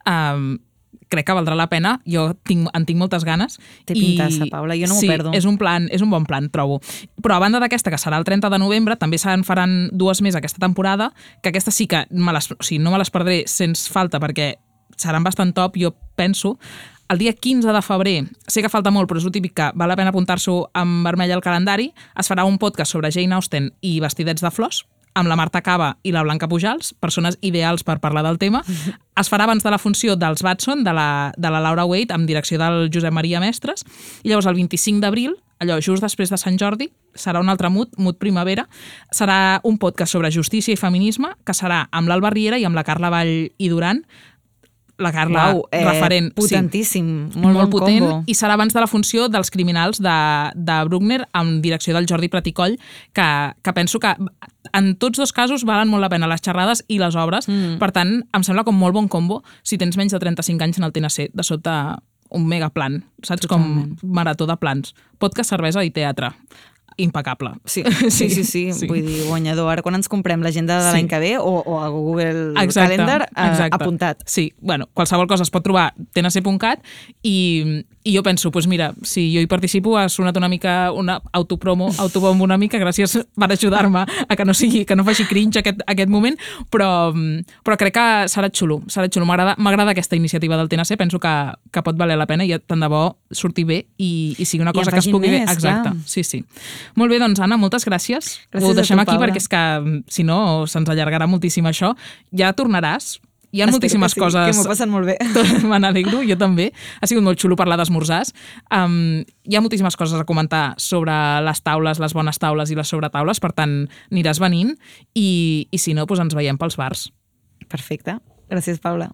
Crec que valdrà la pena, jo en tinc moltes ganes. Té pintassa, Paula, jo no m'ho perdo. Sí, és un bon plan, trobo. Però a banda d'aquesta, que serà el 30 de novembre, també se'n faran 2 més aquesta temporada, que aquesta sí que no me les perdré sens falta, perquè seran bastant top, jo penso. El dia 15 de febrer, sé que falta molt, però és el típic que val la pena apuntar-s'ho en vermell al calendari, es farà un podcast sobre Jane Austen i vestidets de flors, amb la Marta Cava i la Blanca Pujals, persones ideals per parlar del tema. Es farà abans de la funció dels Batson, de la Laura Waite, amb direcció del Josep Maria Mestres, i llavors el 25 d'abril, allò just després de Sant Jordi, serà un altre Mood Primavera, serà un podcast sobre justícia i feminisme, que serà amb l'Alba Riera i amb la Carla Vall i Duran, la Carla, referent. Potentíssim, sí, molt potent, combo. I serà abans de la funció dels Criminals de Bruckner, amb direcció del Jordi Praticoll, que penso que en tots 2 casos valen molt la pena les xerrades i les obres, per tant, em sembla com molt bon combo si tens menys de 35 anys en el TNC, de sobte un megaplan, saps? Totalment. Com marató de plans. Podcast, cervesa i teatre. Impecable. Sí. Vull dir, guanyador. Ara quan ens comprem l'agenda de l'any que ve o a Google Calendar, apuntat. Sí, qualsevol cosa es pot trobar tnc.cat i jo penso, doncs mira, si jo hi participo ha sonat una mica una autobombo una mica, gràcies per ajudar-me a que no faci cringe aquest moment, però crec que serà xulo. M'agrada aquesta iniciativa del TNC, penso que pot valer la pena i tant de bo sortir bé i sigui una cosa que es pugui fer. Exacte, sí. Molt bé, doncs Anna, moltes gràcies. Ho deixem aquí perquè és que si no se'ns allargarà moltíssim això. Ja tornaràs. Hi ha moltíssimes coses... Que m'ho passen molt bé. Me n'alegro, jo també. Ha sigut molt xulo parlar d'esmorzars. Hi ha moltíssimes coses a comentar sobre les taules, les bones taules i les sobretaules, per tant, aniràs venint i si no, doncs ens veiem pels bars. Perfecte. Gràcies, Paula.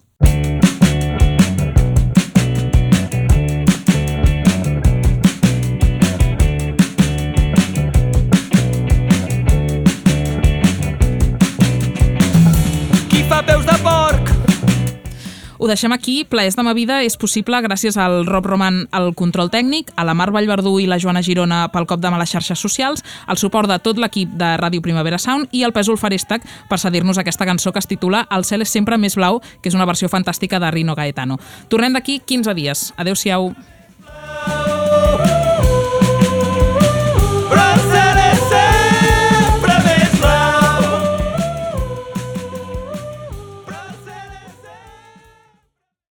Fa peus de porc. Ho deixem aquí. Plaers de ma vida és possible gràcies al Rob Roman al control tècnic, a la Mar Vallverdú i la Joana Girona pel cop de mà a les xarxes socials, al suport de tot l'equip de Ràdio Primavera Sound i al Pèsol Farèstec per cedir-nos aquesta cançó que es titula El cel és sempre més blau, que és una versió fantàstica de Rino Gaetano. Tornem d'aquí 15 dies. Adéu-siau.